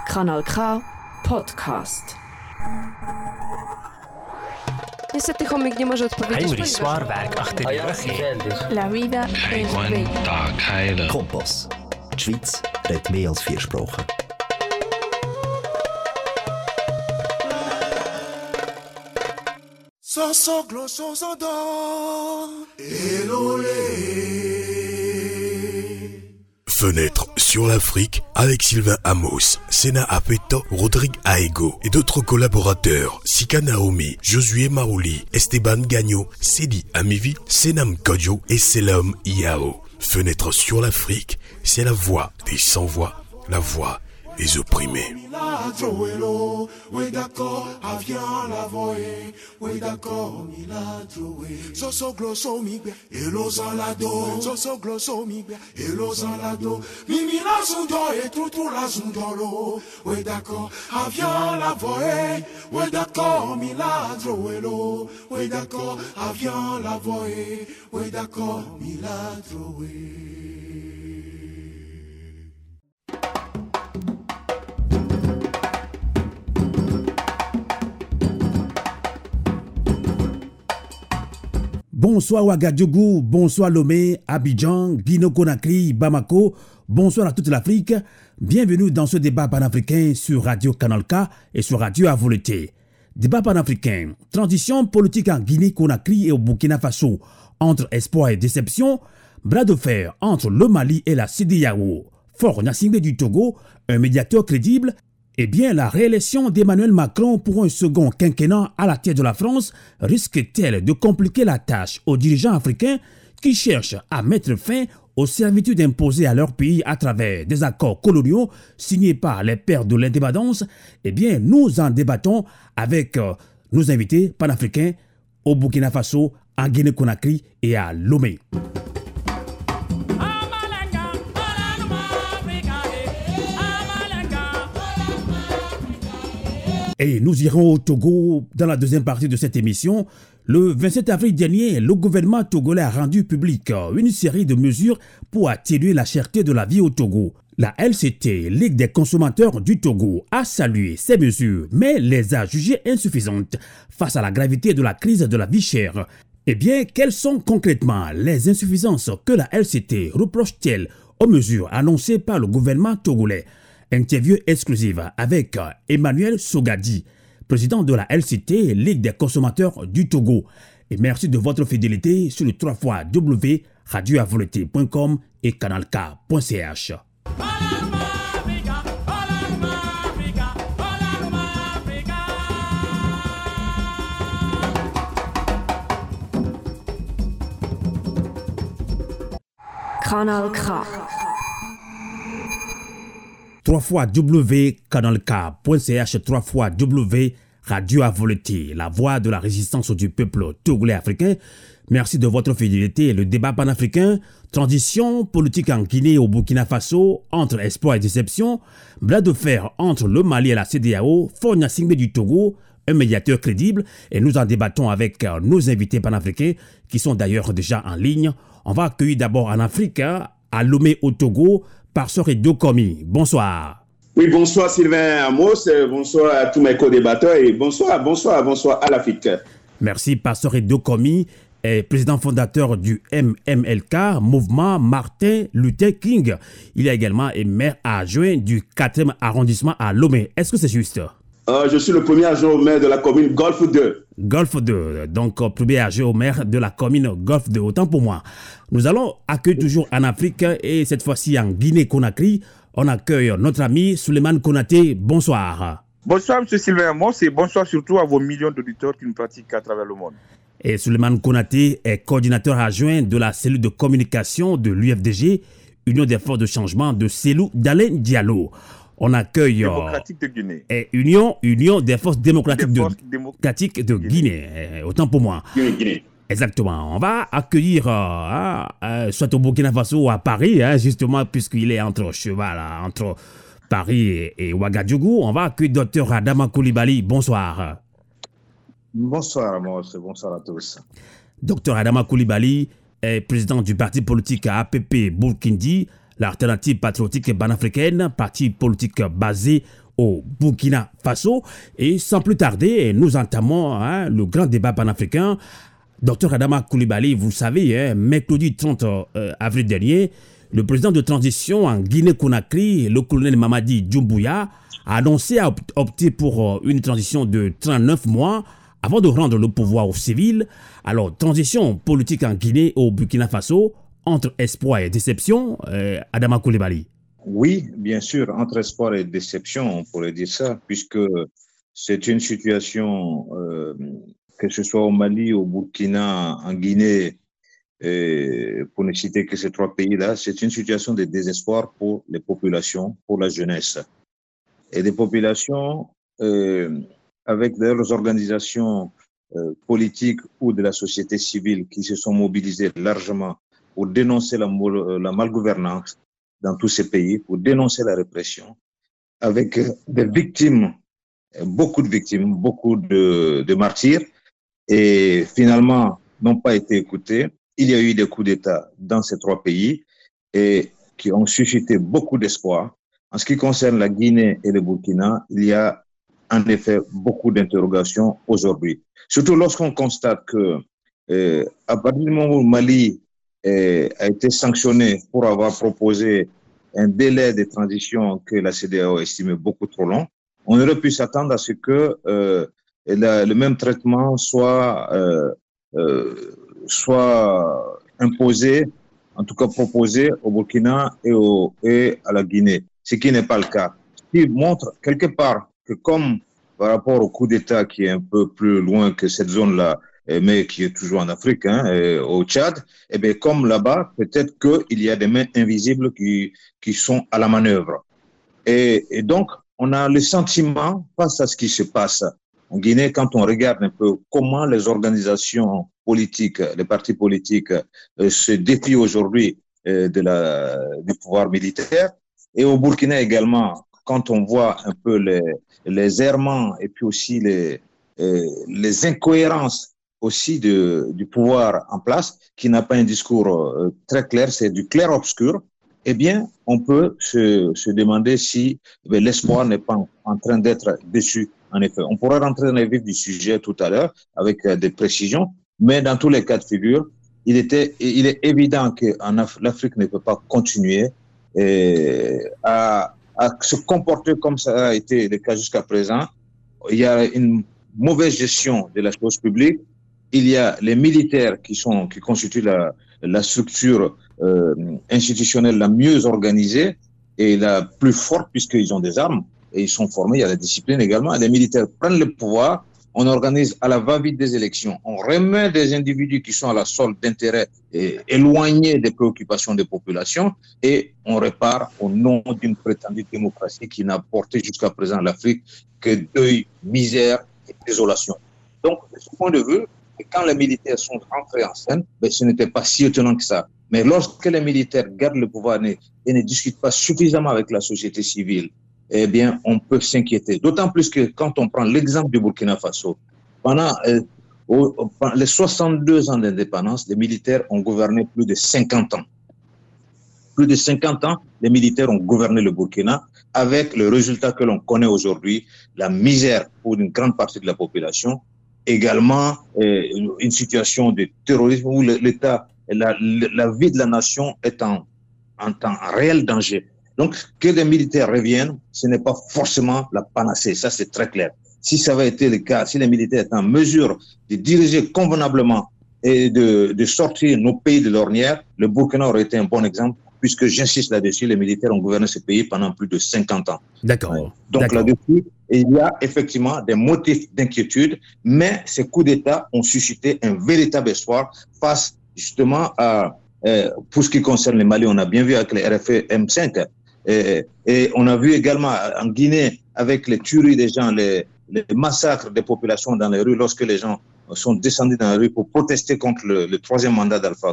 Kanal K Podcast. Niestety chomik nie może odpowiedzieć. Heinrich Zwaarwerk achter die rug. La vida es bella. Tag heilen. Kompass. Die Schweiz redet mehr als 4 Sprachen. Fenêtre sur l'Afrique avec Sylvain Amos, Sena Apeto, Rodrigue Aego et d'autres collaborateurs, Sika Naomi, Josué Marouli, Esteban Gagno, Sedi Amivi, Senam Kodjo et Selam Iao. Fenêtre sur l'Afrique, c'est la voix des sans-voix, la voix des opprimés. Bonsoir Ouagadougou, bonsoir Lomé, Abidjan, Guinée-Conakry, Bamako, bonsoir à toute l'Afrique. Bienvenue dans ce débat panafricain sur Radio Canal K et sur Radio à volonté. Débat panafricain, transition politique en Guinée-Conakry et au Burkina Faso, entre espoir et déception, bras de fer entre le Mali et la CEDEAO, Faure Gnassingbé du Togo, un médiateur crédible. Eh bien, la réélection d'Emmanuel Macron pour un second quinquennat à la tête de la France risque-t-elle de compliquer la tâche aux dirigeants africains qui cherchent à mettre fin aux servitudes imposées à leur pays à travers des accords coloniaux signés par les pères de l'indépendance? Eh bien, nous en débattons avec nos invités panafricains au Burkina Faso, en Guinée-Conakry et à Lomé. Et nous irons au Togo dans la deuxième partie de cette émission. Le 27 avril dernier, le gouvernement togolais a rendu public une série de mesures pour atténuer la cherté de la vie au Togo. La LCT, Ligue des consommateurs du Togo, a salué ces mesures, mais les a jugées insuffisantes face à la gravité de la crise de la vie chère. Eh bien, quelles sont concrètement les insuffisances que la LCT reproche-t-elle aux mesures annoncées par le gouvernement togolais? Interview exclusive avec Emmanuel Sogadi, président de la LCT, Ligue des consommateurs du Togo. Et merci de votre fidélité sur le 3x radioavolonté.com et canalk.ch. Kanal K. 3xcanalk.ch, 3xradioavolonté, la voix de la résistance du peuple togolais africain. Merci de votre fidélité. Le débat panafricain, transition politique en Guinée et au Burkina Faso, entre espoir et déception, bras de fer entre le Mali et la CEDEAO, Faure Gnassingbé du Togo, un médiateur crédible, et nous en débattons avec nos invités panafricains qui sont d'ailleurs déjà en ligne. On va accueillir d'abord en Afrique, à Lomé au Togo, Pastor Edo Komi. Bonsoir. Oui, bonsoir Sylvain Amos, bonsoir à tous mes co-débatteurs et bonsoir à l'Afrique. Merci Pastor Edo Komi, président fondateur du MMLK, Mouvement Martin Luther King. Il est également maire adjoint du 4e arrondissement à Lomé. Est-ce que c'est juste? Je suis le premier adjoint au maire de la commune Golfe 2. Golfe 2, donc premier adjoint au maire de la commune Golfe 2, autant pour moi. Nous allons accueillir toujours en Afrique et cette fois-ci en Guinée-Conakry. On accueille notre ami Souleymane Konaté. Bonsoir. Bonsoir M. Sylvain Amos et bonsoir surtout à vos millions d'auditeurs qui nous pratiquent à travers le monde. Et Souleymane Konaté est coordinateur adjoint de la cellule de communication de l'UFDG, Union des forces de changement de Cellou Dalein Diallo. On accueille démocratique de Guinée. Union des forces démocratiques de Guinée. Autant pour moi. Guinée. Exactement. On va accueillir soit au Burkina Faso ou à Paris, justement, puisqu'il est entre Paris et Ouagadougou. On va accueillir Dr Adama Coulibaly. Bonsoir. Bonsoir Amos, bonsoir à tous. Dr Adama Coulibaly est président du parti politique APP Burkindi, l'alternative patriotique panafricaine, parti politique basé au Burkina Faso. Et sans plus tarder, nous entamons le grand débat panafricain. Dr Adama Coulibaly, vous le savez, mercredi 30 avril dernier, le président de transition en Guinée-Conakry, le colonel Mamadi Doumbouya, a annoncé opter pour une transition de 39 mois avant de rendre le pouvoir aux civils. Alors, transition politique en Guinée et au Burkina Faso, entre espoir et déception, Adama Coulibaly. Oui, bien sûr, entre espoir et déception, on pourrait dire ça, puisque c'est une situation, que ce soit au Mali, au Burkina, en Guinée, pour ne citer que ces trois pays-là, c'est une situation de désespoir pour les populations, pour la jeunesse. Et des populations avec leurs organisations politiques ou de la société civile qui se sont mobilisées largement pour dénoncer la malgouvernance dans tous ces pays, pour dénoncer la répression, avec des victimes, beaucoup de martyrs, et finalement n'ont pas été écoutés. Il y a eu des coups d'État dans ces trois pays et qui ont suscité beaucoup d'espoir. En ce qui concerne la Guinée et le Burkina, il y a en effet beaucoup d'interrogations aujourd'hui. Surtout lorsqu'on constate que à partir du moment où le Mali a été sanctionné pour avoir proposé un délai de transition que la CEDEAO estimait beaucoup trop long, on aurait pu s'attendre à ce que le même traitement soit imposé, en tout cas proposé au Burkina et à la Guinée, ce qui n'est pas le cas. Ce qui montre quelque part que comme par rapport au coup d'État qui est un peu plus loin que cette zone-là, mais qui est toujours en Afrique, au Tchad, et bien comme là-bas, peut-être qu'il y a des mains invisibles qui sont à la manœuvre. Et donc, on a le sentiment, face à ce qui se passe en Guinée, quand on regarde un peu comment les organisations politiques, les partis politiques se défient aujourd'hui du pouvoir militaire, et au Burkina également, quand on voit un peu les errements et puis aussi les incohérences aussi du pouvoir en place, qui n'a pas un discours très clair, c'est du clair-obscur, eh bien, on peut se demander si l'espoir n'est pas en train d'être déçu, en effet. On pourra rentrer dans les vifs du sujet tout à l'heure avec des précisions, mais dans tous les cas de figure, il est évident que l'Afrique ne peut pas continuer à se comporter comme ça a été le cas jusqu'à présent. Il y a une mauvaise gestion de la chose publique. Il y a les militaires qui constituent la structure institutionnelle la mieux organisée et la plus forte puisqu'ils ont des armes et ils sont formés. Il y a la discipline également. Les militaires prennent le pouvoir. On organise à la va-vite des élections. On remet des individus qui sont à la solde d'intérêts éloignés des préoccupations des populations et on répare au nom d'une prétendue démocratie qui n'a porté jusqu'à présent l'Afrique que deuil, misère et désolation. Donc, de ce point de vue, quand les militaires sont rentrés en scène, ce n'était pas si étonnant que ça. Mais lorsque les militaires gardent le pouvoir et ne discutent pas suffisamment avec la société civile, eh bien, on peut s'inquiéter. D'autant plus que quand on prend l'exemple du Burkina Faso, pendant les 62 ans d'indépendance, les militaires ont gouverné plus de 50 ans. Plus de 50 ans, les militaires ont gouverné le Burkina avec le résultat que l'on connaît aujourd'hui, la misère pour une grande partie de la population, également une situation de terrorisme où l'État, la vie de la nation est en réel danger. Donc, que les militaires reviennent, ce n'est pas forcément la panacée, ça c'est très clair. Si ça avait été le cas, si les militaires étaient en mesure de diriger convenablement et de sortir nos pays de l'ornière, le Burkina aurait été un bon exemple, puisque j'insiste là-dessus, les militaires ont gouverné ce pays pendant plus de 50 ans. D'accord. Ouais. Donc là-dessus, il y a effectivement des motifs d'inquiétude, mais ces coups d'État ont suscité un véritable espoir face justement à, pour ce qui concerne les Mali, on a bien vu avec les RFE M5, et on a vu également en Guinée avec les tueries des gens, les massacres des populations dans les rues lorsque les gens sont descendus dans la rue pour protester contre le troisième mandat d'Alpha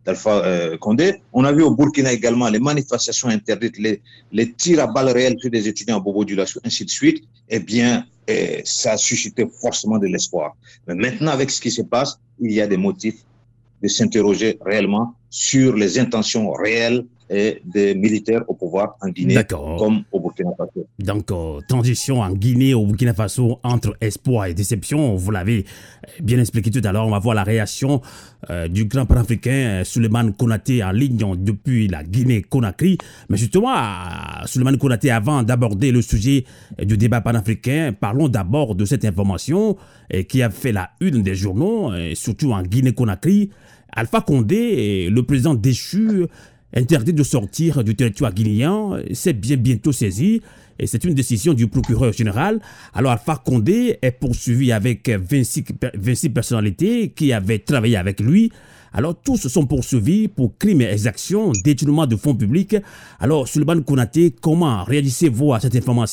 Condé. On a vu au Burkina également les manifestations interdites, les tirs à balles réelles sur des étudiants à Bobo-Dioulasso, ainsi de suite. Eh bien, ça a suscité forcément de l'espoir. Mais maintenant, avec ce qui se passe, il y a des motifs de s'interroger réellement sur les intentions réelles et des militaires au pouvoir en Guinée comme au Burkina Faso. Donc, transition en Guinée au Burkina Faso entre espoir et déception, vous l'avez bien expliqué tout à l'heure. On va voir la réaction du grand panafricain Souleymane Konaté en ligne depuis la Guinée-Conakry. Mais justement, Souleymane Konaté, avant d'aborder le sujet du débat panafricain, parlons d'abord de cette information qui a fait la une des journaux, surtout en Guinée-Conakry. Alpha Condé, le président déchu, interdit de sortir du territoire guinéen, c'est bientôt saisi. Et c'est une décision du procureur général. Alors Alpha Condé est poursuivi avec 26 personnalités qui avaient travaillé avec lui. Alors tous sont poursuivis pour crimes et exactions, détournement de fonds publics. Alors Souleymane Konaté, comment réagissez-vous à cette information ?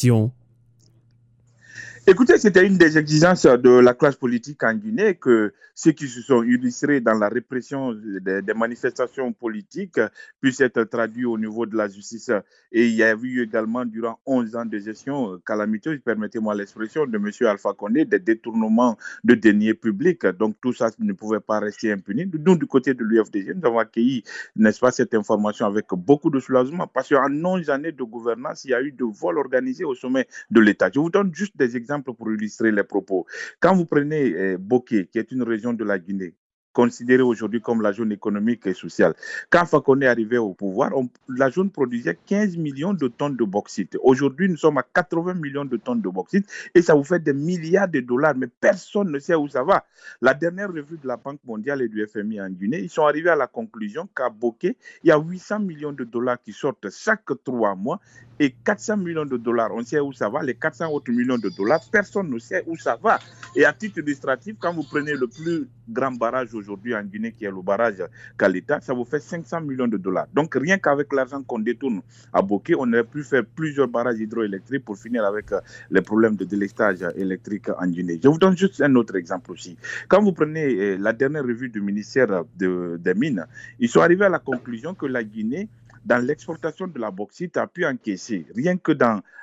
Écoutez, c'était une des exigences de la classe politique en Guinée que ceux qui se sont illustrés dans la répression des manifestations politiques puissent être traduits au niveau de la justice. Et il y a eu également, durant 11 ans de gestion calamiteuse, permettez-moi l'expression, de M. Alpha Condé, des détournements de deniers publics. Donc tout ça ne pouvait pas rester impuni. Nous, du côté de l'UFDG, nous avons accueilli, n'est-ce pas, cette information avec beaucoup de soulagement parce qu'en 11 années de gouvernance, il y a eu de vols organisés au sommet de l'État. Je vous donne juste des exemples pour illustrer les propos. Quand vous prenez Boké, qui est une région de la Guinée, considérée aujourd'hui comme la zone économique et sociale. Quand Fakonde est arrivé au pouvoir, la zone produisait 15 millions de tonnes de bauxite. Aujourd'hui, nous sommes à 80 millions de tonnes de bauxite et ça vous fait des milliards de dollars, mais personne ne sait où ça va. La dernière revue de la Banque mondiale et du FMI en Guinée, ils sont arrivés à la conclusion qu'à Boké, il y a 800 millions de dollars qui sortent chaque 3 mois et 400 millions de dollars, on sait où ça va. Les 400 autres millions de dollars, personne ne sait où ça va. Et à titre illustratif, quand vous prenez le plus grand barrage aujourd'hui en Guinée, qui est le barrage Kalita, ça vous fait 500 millions de dollars. Donc rien qu'avec l'argent qu'on détourne à Boké, on aurait pu faire plusieurs barrages hydroélectriques pour finir avec les problèmes de délestage électrique en Guinée. Je vous donne juste un autre exemple aussi. Quand vous prenez la dernière revue du ministère des Mines, ils sont arrivés à la conclusion que la Guinée, dans l'exportation de la bauxite, a pu encaisser, rien que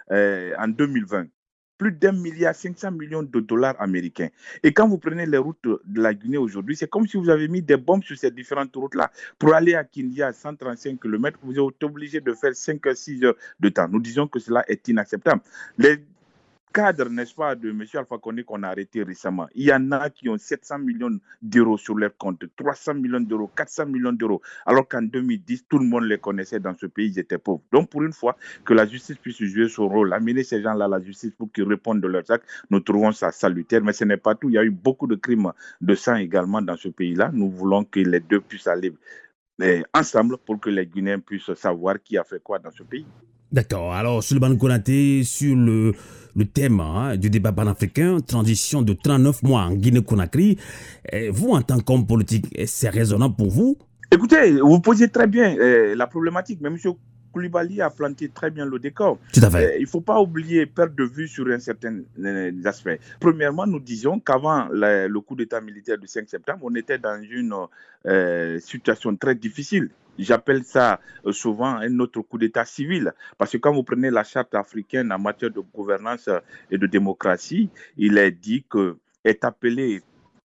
en 2020, plus d'1,5 milliard de dollars américains. Et quand vous prenez les routes de la Guinée aujourd'hui, c'est comme si vous avez mis des bombes sur ces différentes routes-là. Pour aller à Kindia à 135 km, vous êtes obligé de faire 5 à 6 heures de temps. Nous disons que cela est inacceptable. Les cadres, n'est-ce pas, de M. Alpha Condé qu'on a arrêté récemment, il y en a qui ont 700 millions d'euros sur leur compte, 300 millions d'euros, 400 millions d'euros, alors qu'en 2010, tout le monde les connaissait dans ce pays, ils étaient pauvres. Donc, pour une fois, que la justice puisse jouer son rôle, amener ces gens-là à la justice pour qu'ils répondent de leurs actes, nous trouvons ça salutaire, mais ce n'est pas tout. Il y a eu beaucoup de crimes de sang également dans ce pays-là. Nous voulons que les deux puissent aller ensemble pour que les Guinéens puissent savoir qui a fait quoi dans ce pays. D'accord. Alors, Souleymane Konaté, sur le thème du débat panafricain, transition de 39 mois en Guinée-Conakry, vous, en tant qu'homme politique, c'est raisonnable pour vous? Écoutez, vous posez très bien la problématique, mais M. Koulibaly a planté très bien le décor. Tout à fait. Il ne faut pas oublier, perdre de vue sur un certain aspect. Premièrement, nous disions qu'avant le coup d'État militaire du 5 septembre, on était dans une situation très difficile. J'appelle ça souvent un autre coup d'État civil. Parce que quand vous prenez la charte africaine en matière de gouvernance et de démocratie, il est dit que est appelé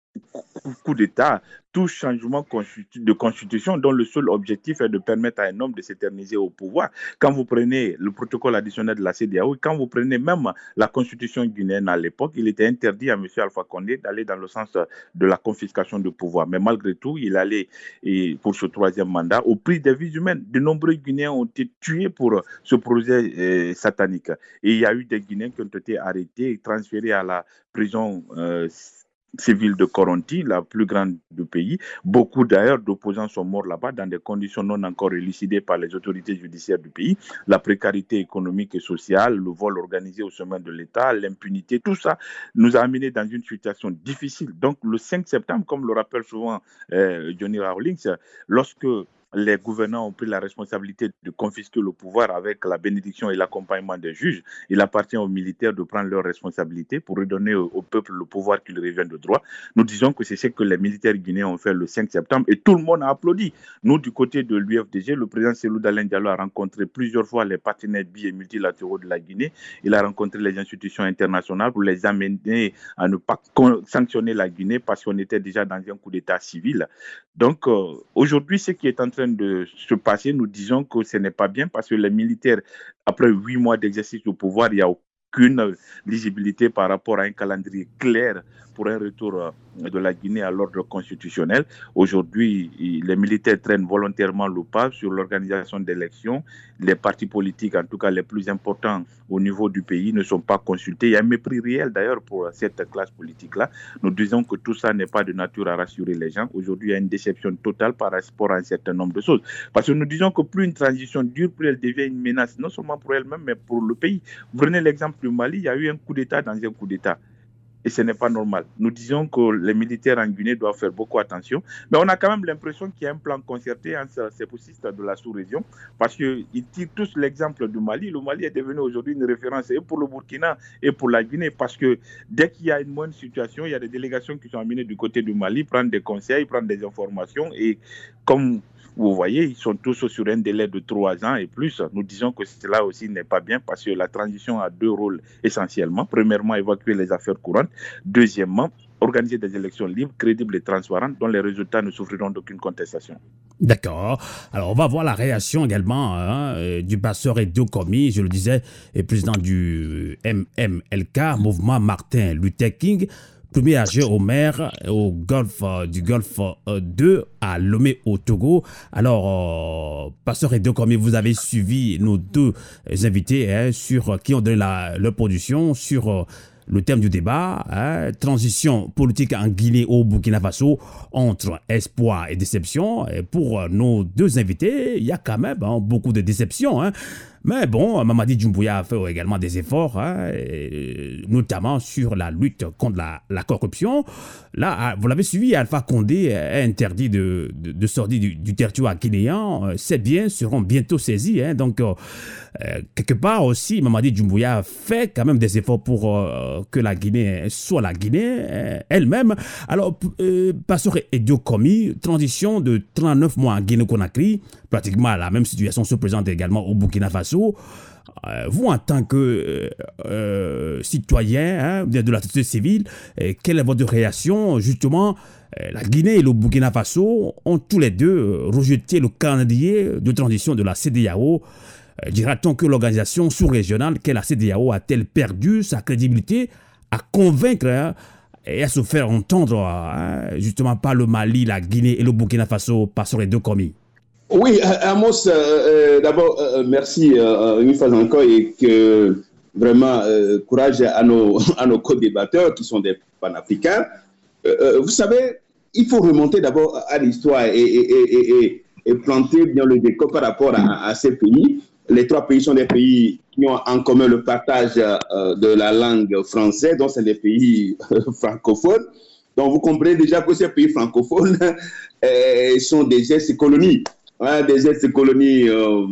coup d'État tout changement de constitution dont le seul objectif est de permettre à un homme de s'éterniser au pouvoir. Quand vous prenez le protocole additionnel de la CEDEAO, quand vous prenez même la constitution guinéenne à l'époque, il était interdit à M. Alpha Condé d'aller dans le sens de la confiscation de pouvoir. Mais malgré tout, il allait pour ce troisième mandat au prix des vies humaines. De nombreux Guinéens ont été tués pour ce projet satanique. Et il y a eu des Guinéens qui ont été arrêtés et transférés à la prison civile de Koronti, la plus grande du pays. Beaucoup d'ailleurs d'opposants sont morts là-bas dans des conditions non encore élucidées par les autorités judiciaires du pays. La précarité économique et sociale, le vol organisé au sommet de l'État, l'impunité, tout ça nous a amenés dans une situation difficile. Donc le 5 septembre, comme le rappelle souvent Johnny Rawlings, lorsque les gouvernants ont pris la responsabilité de confisquer le pouvoir avec la bénédiction et l'accompagnement des juges. Il appartient aux militaires de prendre leurs responsabilités pour redonner au peuple le pouvoir qui lui revient de droit. Nous disons que c'est ce que les militaires guinéens ont fait le 5 septembre et tout le monde a applaudi. Nous, du côté de l'UFDG, le président Cellou Dalein Diallo a rencontré plusieurs fois les partenaires bi- et multilatéraux de la Guinée. Il a rencontré les institutions internationales pour les amener à ne pas sanctionner la Guinée parce qu'on était déjà dans un coup d'État civil. Donc, aujourd'hui, ce qui est en train train de se passer, nous disons que ce n'est pas bien parce que les militaires, après 8 mois d'exercice au pouvoir, il n'y a aucune lisibilité par rapport à un calendrier clair pour un retour de la Guinée à l'ordre constitutionnel. Aujourd'hui, les militaires traînent volontairement le pas sur l'organisation d'élections. Les partis politiques, en tout cas les plus importants au niveau du pays, ne sont pas consultés. Il y a un mépris réel d'ailleurs pour cette classe politique-là. Nous disons que tout ça n'est pas de nature à rassurer les gens. Aujourd'hui, il y a une déception totale par rapport à un certain nombre de choses. Parce que nous disons que plus une transition dure, plus elle devient une menace, non seulement pour elle-même, mais pour le pays. Vous prenez l'exemple du Mali, il y a eu un coup d'État dans un coup d'État. Et ce n'est pas normal. Nous disons que les militaires en Guinée doivent faire beaucoup attention. Mais on a quand même l'impression qu'il y a un plan concerté entre ces poussistes de la sous-région parce qu'ils tirent tous l'exemple du Mali. Le Mali est devenu aujourd'hui une référence et pour le Burkina et pour la Guinée parce que dès qu'il y a une bonne situation, il y a des délégations qui sont amenées du côté du Mali, prendre des conseils, prendre des informations et comme vous voyez, ils sont tous sur un délai de 3 ans et plus. Nous disons que cela aussi n'est pas bien parce que la transition a 2 rôles essentiellement. Premièrement, évacuer les affaires courantes. Deuxièmement, organiser des élections libres, crédibles et transparentes dont les résultats ne souffriront d'aucune contestation. D'accord. Alors, on va voir la réaction également du pasteur Edo Komi, je le disais, président du MMLK, Mouvement Martin Luther King, premier adjoint au maire au Golfe du Golfe 2 à Lomé au Togo. Alors, pasteur Edo Komi, vous avez suivi nos 2 invités sur qui ont donné leur position sur le thème du débat, transition politique en Guinée au Burkina Faso entre espoir et déception. Et pour nos 2 invités, il y a quand même beaucoup de déception. Mais bon, Mamadi Doumbouya a fait également des efforts, notamment sur la lutte contre la corruption. Là, vous l'avez suivi, Alpha Condé est interdit de sortir du territoire guinéen. Ces biens seront bientôt saisis. Donc, quelque part aussi, Mamadi Doumbouya a fait quand même des efforts pour que la Guinée soit la Guinée elle-même. Alors, Pasteur Edo Komi, transition de 39 mois en Guinée-Conakry, pratiquement la même situation se présente également au Burkina Faso. Vous, en tant que citoyen de la société civile, quelle est votre réaction? Justement, la Guinée et le Burkina Faso ont tous les 2 rejeté le calendrier de transition de la CEDEAO. Dira-t-on que l'organisation sous-régionale qu'est la CEDEAO a-t-elle perdu sa crédibilité à convaincre et à se faire entendre justement par le Mali, la Guinée et le Burkina Faso par sur les 2 commis? Oui, Amos, d'abord, merci une fois encore et que vraiment courage à nos co-débatteurs qui sont des panafricains. Vous savez, il faut remonter d'abord à l'histoire et planter bien le décor par rapport à ces pays. Les 3 pays sont des pays qui ont en commun le partage de la langue française, donc c'est des pays francophones. Donc vous comprenez déjà que ces pays francophones sont des ex-colonies. Des ex-colonies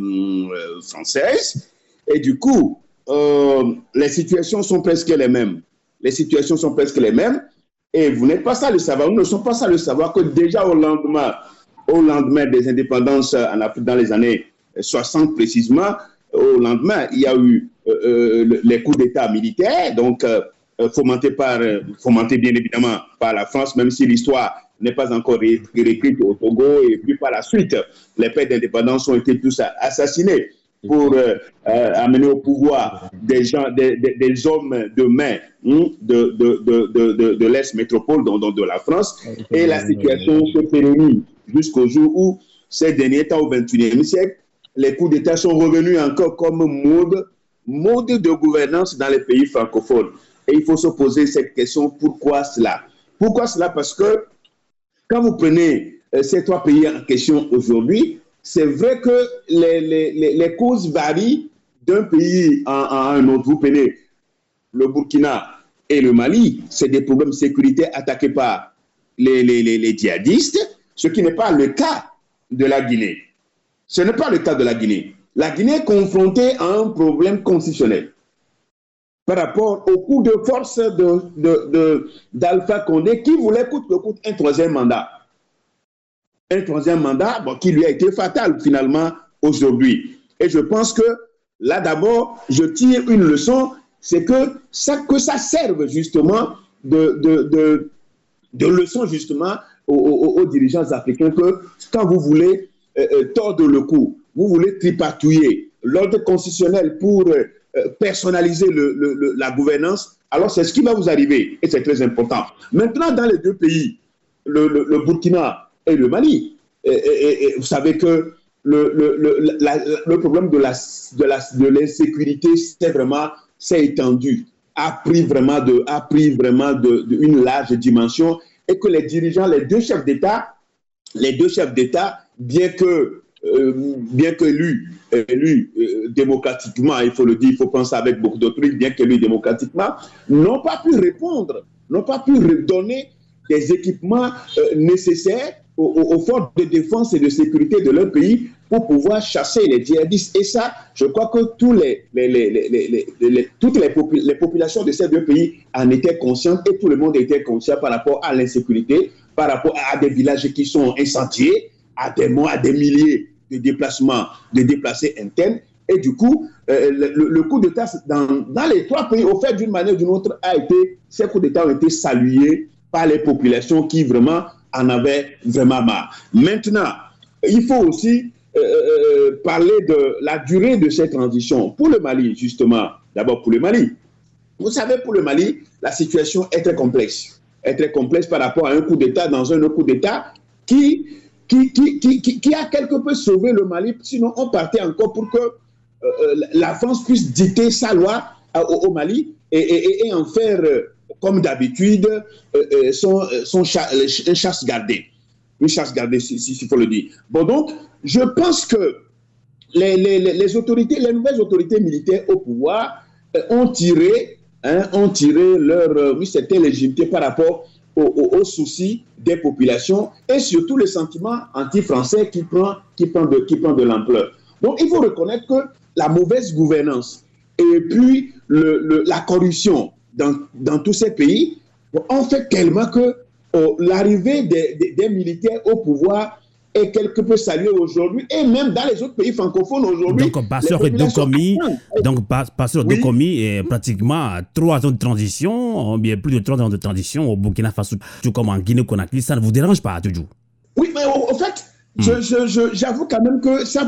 françaises. Et du coup, les situations sont presque les mêmes. Et vous n'êtes pas ça le savoir. Nous ne sommes pas ça le savoir que déjà au lendemain des indépendances en Afrique dans les années 60 précisément, au lendemain, il y a eu les coups d'État militaires, donc fomentés bien évidemment par la France, même si l'histoire n'est pas encore réécrite au Togo, et puis par la suite, les pères d'indépendance ont été tous assassinés pour amener au pouvoir des hommes de main de l'Est métropole, donc de la France, et la situation se pérennise jusqu'au jour où, ces derniers temps, au XXIe siècle, les coups d'État sont revenus encore comme mode de gouvernance dans les pays francophones. Et il faut se poser cette question, pourquoi cela? Pourquoi cela? Parce que quand vous prenez ces 3 pays en question aujourd'hui, c'est vrai que les causes varient d'un pays à un autre. Vous prenez le Burkina et le Mali, c'est des problèmes de sécurité attaqués par les djihadistes, ce qui n'est pas le cas de la Guinée. Ce n'est pas le cas de la Guinée. La Guinée est confrontée à un problème constitutionnel par rapport au coup de force d'Alpha Condé qui voulait coûte que coûte un 3e mandat. Un 3e mandat qui lui a été fatal finalement aujourd'hui. Et je pense que là d'abord, je tire une leçon, c'est que ça serve justement de leçon justement aux dirigeants africains que quand vous voulez tordre le cou, vous voulez tripatouiller l'ordre constitutionnel pour personnaliser la gouvernance, alors c'est ce qui va vous arriver et c'est très important. Maintenant, dans les deux pays, le Burkina et le Mali, et vous savez que le problème de l'insécurité s'est étendu, a pris vraiment une large dimension et que les dirigeants, les deux chefs d'État, bien que élus démocratiquement, il faut le dire, il faut penser avec beaucoup d'autrui, bien qu'élus démocratiquement, n'ont pas pu répondre, n'ont pas pu donner des équipements nécessaires aux forces de défense et de sécurité de leur pays pour pouvoir chasser les djihadistes. Et ça, je crois que toutes les populations de ces deux pays en étaient conscientes et tout le monde était conscient par rapport à l'insécurité, par rapport à des villages qui sont incendiés, à des milliers de déplacés internes. Et du coup, le coup d'État dans les trois pays, au fait d'une manière ou d'une autre, ces coups d'État ont été salués par les populations qui vraiment en avaient vraiment marre. Maintenant, il faut aussi parler de la durée de cette transition. Pour le Mali, justement, d'abord pour le Mali. Vous savez, pour le Mali, la situation est très complexe. Est très complexe par rapport à un coup d'État dans un autre coup d'État qui a quelque peu sauvé le Mali. Sinon, on partait encore pour que la France puisse dicter sa loi au Mali et en faire, comme d'habitude, une chasse gardée. Une chasse gardée, s'il faut le dire. Bon, donc, je pense que les nouvelles autorités militaires au pouvoir ont tiré leur certaine légitimité par rapport aux soucis des populations et surtout le sentiment anti-français qui prend de l'ampleur. Donc, il faut reconnaître que la mauvaise gouvernance et puis la corruption dans tous ces pays ont fait tellement que l'arrivée des militaires au pouvoir est quelque peu saluée aujourd'hui et même dans les autres pays francophones aujourd'hui. Donc, Basseur Dokomi est pratiquement 3 ans de transition, bien plus de 3 ans de transition au Burkina Faso, tout comme en Guinée-Conakry. Ça ne vous dérange pas, toujours? Oui, mais au fait, j'avoue quand même que ça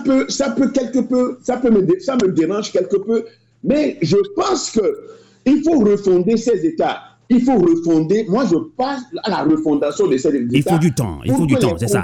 me dérange quelque peu, mais je pense qu'il faut refonder ces États. Il faut refonder. Moi, je passe à la refondation de ces États. Il faut du temps, c'est ça.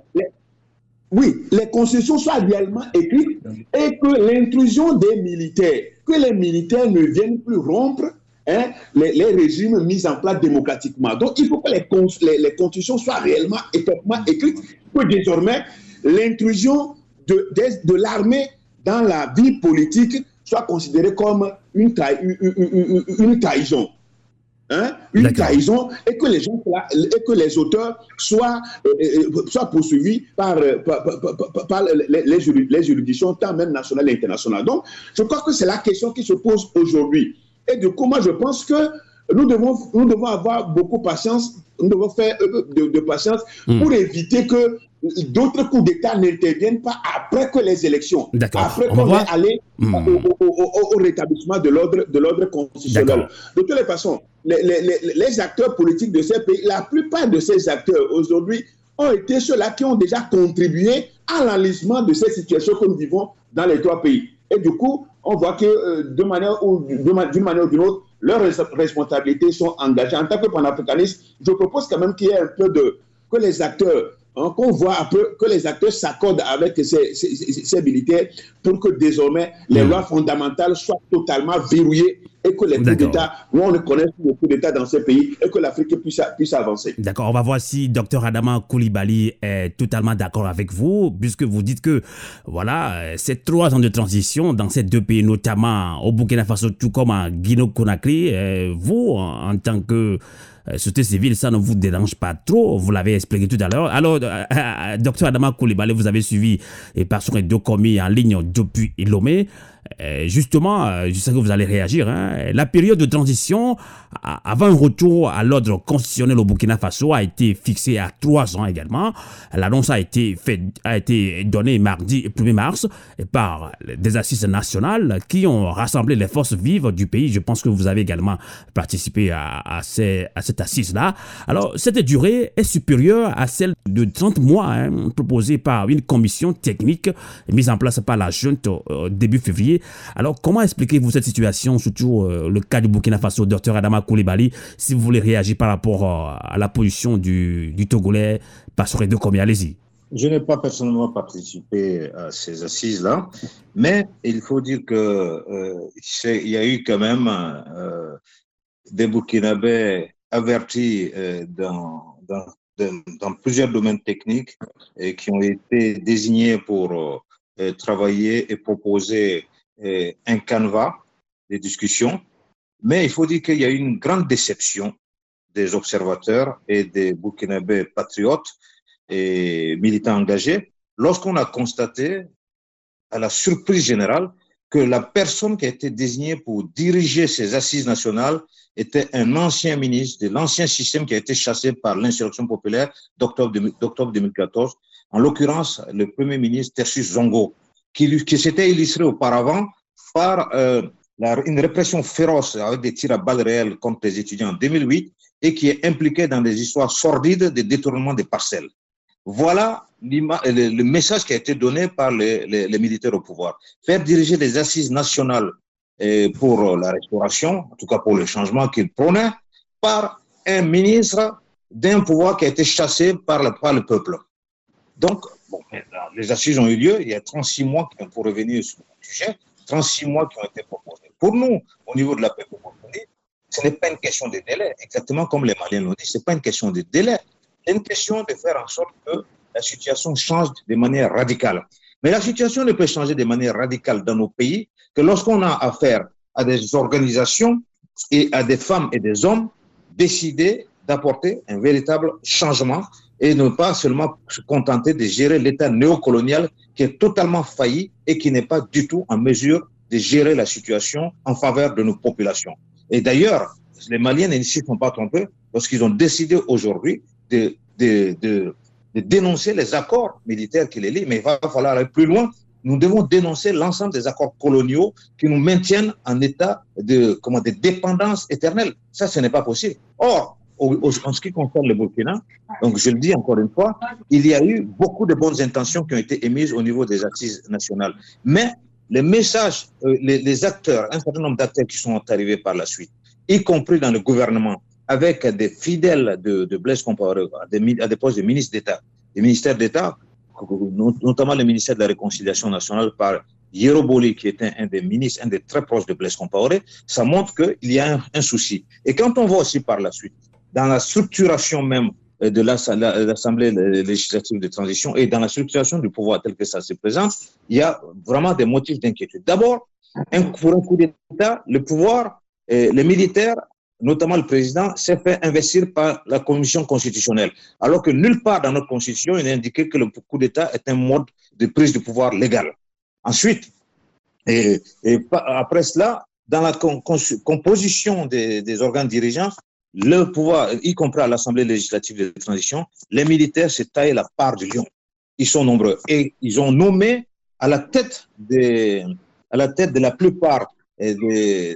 Les constitutions soient réellement écrites et que l'intrusion des militaires, que les militaires ne viennent plus rompre les régimes mis en place démocratiquement. Donc, il faut que les constitutions soient réellement écrites, que désormais, l'intrusion de l'armée dans la vie politique soit considérée comme une trahison. Une trahison et que les auteurs soient poursuivis par les juridictions tant même nationales et internationales. Donc, je crois que c'est la question qui se pose aujourd'hui. Et du coup, moi, je pense que nous devons avoir beaucoup de patience, nous devons faire de patience pour éviter que d'autres coups d'État n'interviennent pas après que les élections. Après qu'on est allé au rétablissement de l'ordre constitutionnel. De toutes les façons, les acteurs politiques de ces pays, la plupart de ces acteurs aujourd'hui ont été ceux-là qui ont déjà contribué à l'enlisement de ces situations que nous vivons dans les trois pays. Et du coup, on voit que d'une manière ou d'une autre, leurs responsabilités sont engagées. En tant que panafricaniste, je propose quand même qu'il y ait un peu que les acteurs, qu'on voit un peu, que les acteurs s'accordent avec ces militaires pour que désormais les lois fondamentales soient totalement verrouillées et que les coups d'État, on ne connaisse plus les coups d'État dans ces pays et que l'Afrique puisse avancer. D'accord, on va voir si Dr Adama Coulibaly est totalement d'accord avec vous, puisque vous dites que voilà, ces 3 ans de transition dans ces deux pays, notamment au Burkina Faso, tout comme en Guinée-Conakry, vous, en tant que société civile, ça ne vous dérange pas trop, vous l'avez expliqué tout à l'heure. Alors, Dr Adama Coulibaly, vous avez suivi Basseur Dokomi en ligne depuis Lomé. Justement, je sais que vous allez réagir, hein, la période de transition avant un retour à l'ordre constitutionnel au Burkina Faso a été fixée à 3 ans également. L'annonce a été donnée mardi 1er mars par des assises nationales qui ont rassemblé les forces vives du pays. Je pense que vous avez également participé à cette assise-là. Alors, cette durée est supérieure à celle de 30 mois proposée par une commission technique mise en place par la junte début février. Alors, comment expliquez-vous cette situation, surtout le cas du Burkina Faso, Dr Adama Coulibaly, si vous voulez réagir par rapport à la position du Togolais Pastoré de Komi, allez-y. Je n'ai pas personnellement participé à ces assises-là, mais il faut dire il y a eu quand même des Burkinabés avertis dans plusieurs domaines techniques et qui ont été désignés pour travailler et proposer un canevas de discussion. Mais il faut dire qu'il y a eu une grande déception des observateurs et des Burkinabés patriotes et militants engagés lorsqu'on a constaté, à la surprise générale, que la personne qui a été désignée pour diriger ces assises nationales était un ancien ministre de l'ancien système qui a été chassé par l'insurrection populaire d'octobre 2014, en l'occurrence le Premier ministre Tersus Zongo, qui s'était illustré auparavant par une répression féroce avec des tirs à balles réelles contre les étudiants en 2008 et qui est impliqué dans des histoires sordides de détournement des parcelles. Voilà le message qui a été donné par les militaires au pouvoir. Faire diriger les assises nationales pour la restauration, en tout cas pour le changement qu'ils prônaient, par un ministre d'un pouvoir qui a été chassé par le peuple. Donc, les assises ont eu lieu, il y a 36 mois, pour revenir sur le sujet, 36 mois qui ont été proposés. Pour nous, au niveau de la paix, ce n'est pas une question de délai, exactement comme les Maliens l'ont dit, ce n'est pas une question de délai. C'est une question de faire en sorte que la situation change de manière radicale. Mais la situation ne peut changer de manière radicale dans nos pays que lorsqu'on a affaire à des organisations et à des femmes et des hommes décidés d'apporter un véritable changement et ne pas seulement se contenter de gérer l'État néocolonial qui est totalement failli et qui n'est pas du tout en mesure de gérer la situation en faveur de nos populations. Et d'ailleurs, les Maliens ne s'y sont pas trompés lorsqu'ils ont décidé aujourd'hui de dénoncer les accords militaires qui les lient, mais il va falloir aller plus loin. Nous devons dénoncer l'ensemble des accords coloniaux qui nous maintiennent en état de dépendance éternelle. Ça, ce n'est pas possible. Or, en ce qui concerne le Burkina, donc je le dis encore une fois, il y a eu beaucoup de bonnes intentions qui ont été émises au niveau des assises nationales. Mais les messages, les acteurs, un certain nombre d'acteurs qui sont arrivés par la suite, y compris dans le gouvernement, avec des fidèles de Blaise Compaoré à des postes de ministres d'État, des ministères d'État, notamment le ministère de la Réconciliation nationale par Yero Boli, qui était un des ministres, un des très proches de Blaise Compaoré, ça montre qu'il y a un souci. Et quand on voit aussi par la suite, dans la structuration même de l'Assemblée législative de transition et dans la structuration du pouvoir tel que ça se présente, il y a vraiment des motifs d'inquiétude. D'abord, pour un coup d'État, le pouvoir, les militaires, notamment le président, s'est fait investir par la commission constitutionnelle, alors que nulle part dans notre constitution, il est indiqué que le coup d'État est un mode de prise de pouvoir légal. Ensuite, et après cela, dans la composition des organes dirigeants, le pouvoir, y compris à l'Assemblée législative de transition, les militaires s'est taillé la part du lion. Ils sont nombreux et ils ont nommé à la tête de la plupart des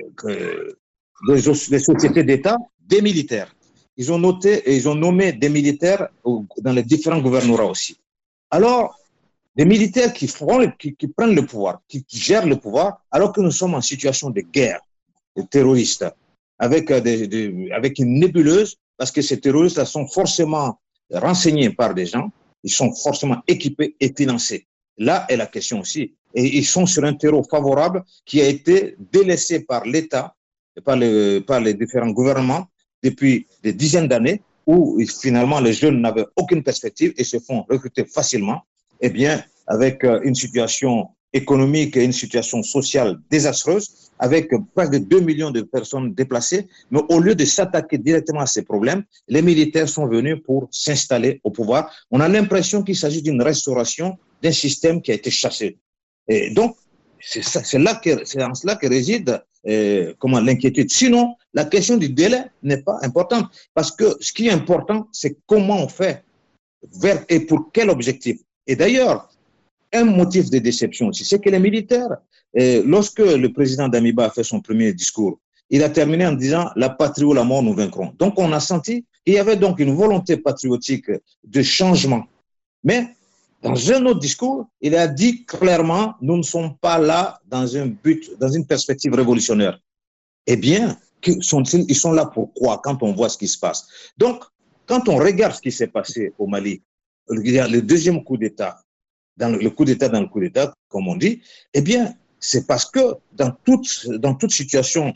sociétés d'État des militaires. Ils ont nommé des militaires dans les différents gouvernorats aussi. Alors, des militaires qui prennent le pouvoir, qui gèrent le pouvoir, alors que nous sommes en situation de guerre, de terroristes, avec une nébuleuse, parce que ces terroristes sont forcément renseignés par des gens, ils sont forcément équipés et financés. Là est la question aussi. Et ils sont sur un terreau favorable qui a été délaissé par l'État, par les différents gouvernements depuis des dizaines d'années, où finalement les jeunes n'avaient aucune perspective et se font recruter facilement. Eh bien, avec une situation économique et une situation sociale désastreuse, avec près de 2 millions de personnes déplacées. Mais au lieu de s'attaquer directement à ces problèmes, les militaires sont venus pour s'installer au pouvoir. On a l'impression qu'il s'agit d'une restauration d'un système qui a été chassé. Et donc, c'est en cela que réside l'inquiétude. Sinon, la question du délai n'est pas importante, parce que ce qui est important, c'est comment on fait, vers et pour quel objectif. Et d'ailleurs, un motif de déception aussi, c'est que les militaires, lorsque le président Damiba a fait son premier discours, il a terminé en disant « la patrie ou la mort, nous vaincrons ». Donc, on a senti qu'il y avait donc une volonté patriotique de changement. Mais dans un autre discours, il a dit clairement « nous ne sommes pas là dans un but, dans une perspective révolutionnaire ». Eh bien, ils sont là pour quoi quand on voit ce qui se passe? Donc, quand on regarde ce qui s'est passé au Mali, il y a le deuxième coup d'État, dans le coup d'État, comme on dit, eh bien, c'est parce que dans toute situation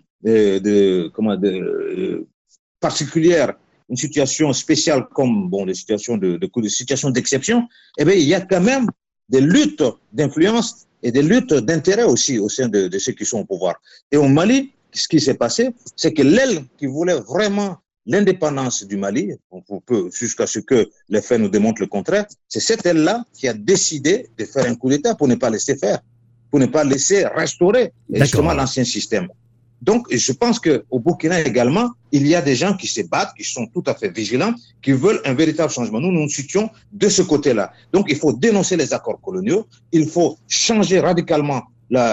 particulière, une situation spéciale comme des situations situations d'exception, eh bien, il y a quand même des luttes d'influence et des luttes d'intérêt aussi au sein de ceux qui sont au pouvoir. Et au Mali, ce qui s'est passé, c'est que l'aile qui voulait vraiment l'indépendance du Mali, jusqu'à ce que les faits nous démontrent le contraire, c'est cette aile-là qui a décidé de faire un coup d'État pour ne pas laisser faire, pour ne pas laisser restaurer justement l'ancien système. Donc, je pense qu'au Burkina également, il y a des gens qui se battent, qui sont tout à fait vigilants, qui veulent un véritable changement. Nous nous situons de ce côté-là. Donc, il faut dénoncer les accords coloniaux, il faut changer radicalement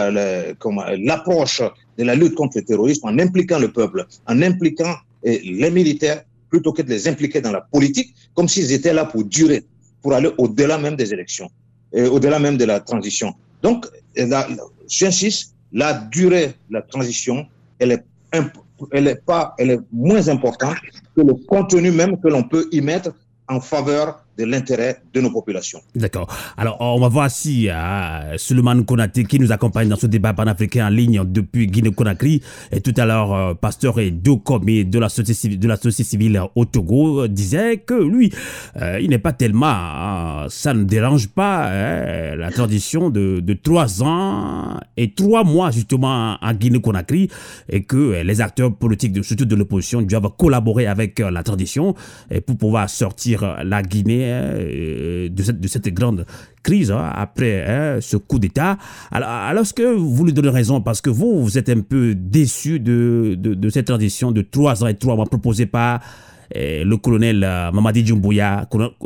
l'approche de la lutte contre le terrorisme en impliquant le peuple, en impliquant les militaires, plutôt que de les impliquer dans la politique, comme s'ils étaient là pour durer, pour aller au-delà même des élections, au-delà même de la transition. Donc, j'insiste, la durée de la transition, elle est moins importante que le contenu même que l'on peut y mettre en faveur de l'intérêt de nos populations. D'accord. Alors, on va voir si Souleymane Konaté, qui nous accompagne dans ce débat panafricain en ligne depuis Guinée-Conakry, et tout à l'heure, Pasteur Dokomé de la société civile au Togo, disait que lui, il n'est pas tellement, ça ne dérange pas la transition de 3 ans et 3 mois justement en Guinée-Conakry, et que les acteurs politiques, surtout de l'opposition, doivent collaborer avec la transition pour pouvoir sortir la Guinée de cette grande crise après ce coup d'État. Alors, est-ce que vous lui donnez raison, parce que vous êtes un peu déçu de cette transition de 3 ans et 3 mois proposée par le colonel Mamadi Doumbouya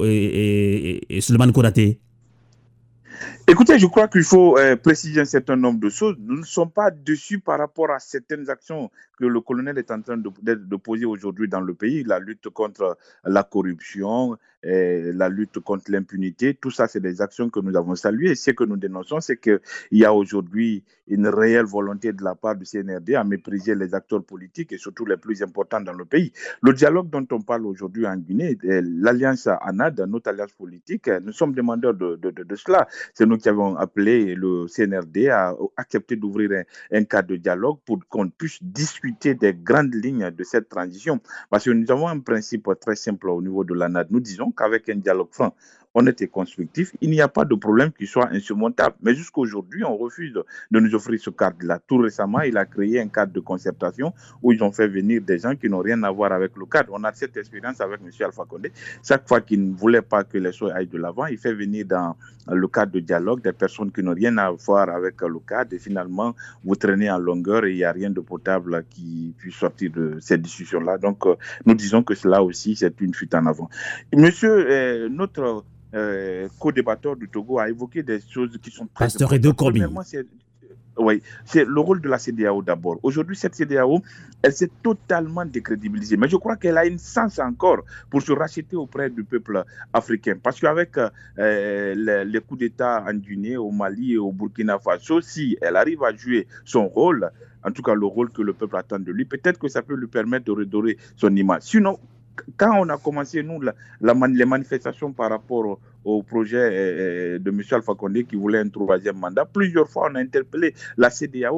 et Souleymane Konaté? Écoutez, je crois qu'il faut préciser un certain nombre de choses. Nous ne sommes pas déçus par rapport à certaines actions que le colonel est en train de poser aujourd'hui dans le pays. La lutte contre la corruption, la lutte contre l'impunité, tout ça, c'est des actions que nous avons saluées. Et ce que nous dénonçons, c'est qu'il y a aujourd'hui une réelle volonté de la part du CNRD à mépriser les acteurs politiques et surtout les plus importants dans le pays. Le dialogue dont on parle aujourd'hui en Guinée, l'alliance ANAD, notre alliance politique, nous sommes demandeurs de cela. C'est nous qui avons appelé le CNRD à accepter d'ouvrir un cadre de dialogue pour qu'on puisse discuter des grandes lignes de cette transition. Parce que nous avons un principe très simple au niveau de l'ANAD. Nous disons qu'avec un dialogue franc, honnête et constructif, il n'y a pas de problème qui soit insurmontable. Mais jusqu'à aujourd'hui, on refuse de nous offrir ce cadre-là. Tout récemment, il a créé un cadre de concertation où ils ont fait venir des gens qui n'ont rien à voir avec le cadre. On a cette expérience avec M. Alpha Condé. Chaque fois qu'il ne voulait pas que les choses aillent de l'avant, il fait venir dans le cadre de dialogue des personnes qui n'ont rien à voir avec le cadre, et finalement, vous traînez en longueur et il n'y a rien de potable qui puisse sortir de cette discussion-là. Donc, nous disons que cela aussi, c'est une fuite en avant. Monsieur, notre co-débatteur du Togo a évoqué des choses qui sont très importantes. Oui, c'est le rôle de la CEDEAO d'abord. Aujourd'hui, cette CEDEAO, elle s'est totalement décrédibilisée. Mais je crois qu'elle a une chance encore pour se racheter auprès du peuple africain. Parce qu'avec les coups d'État en Guinée, au Mali et au Burkina Faso, si elle arrive à jouer son rôle, en tout cas le rôle que le peuple attend de lui, peut-être que ça peut lui permettre de redorer son image. Sinon, quand on a commencé, nous, les manifestations par rapport au projet de M. Alpha Condé qui voulait un 3e mandat, plusieurs fois on a interpellé la CEDEAO.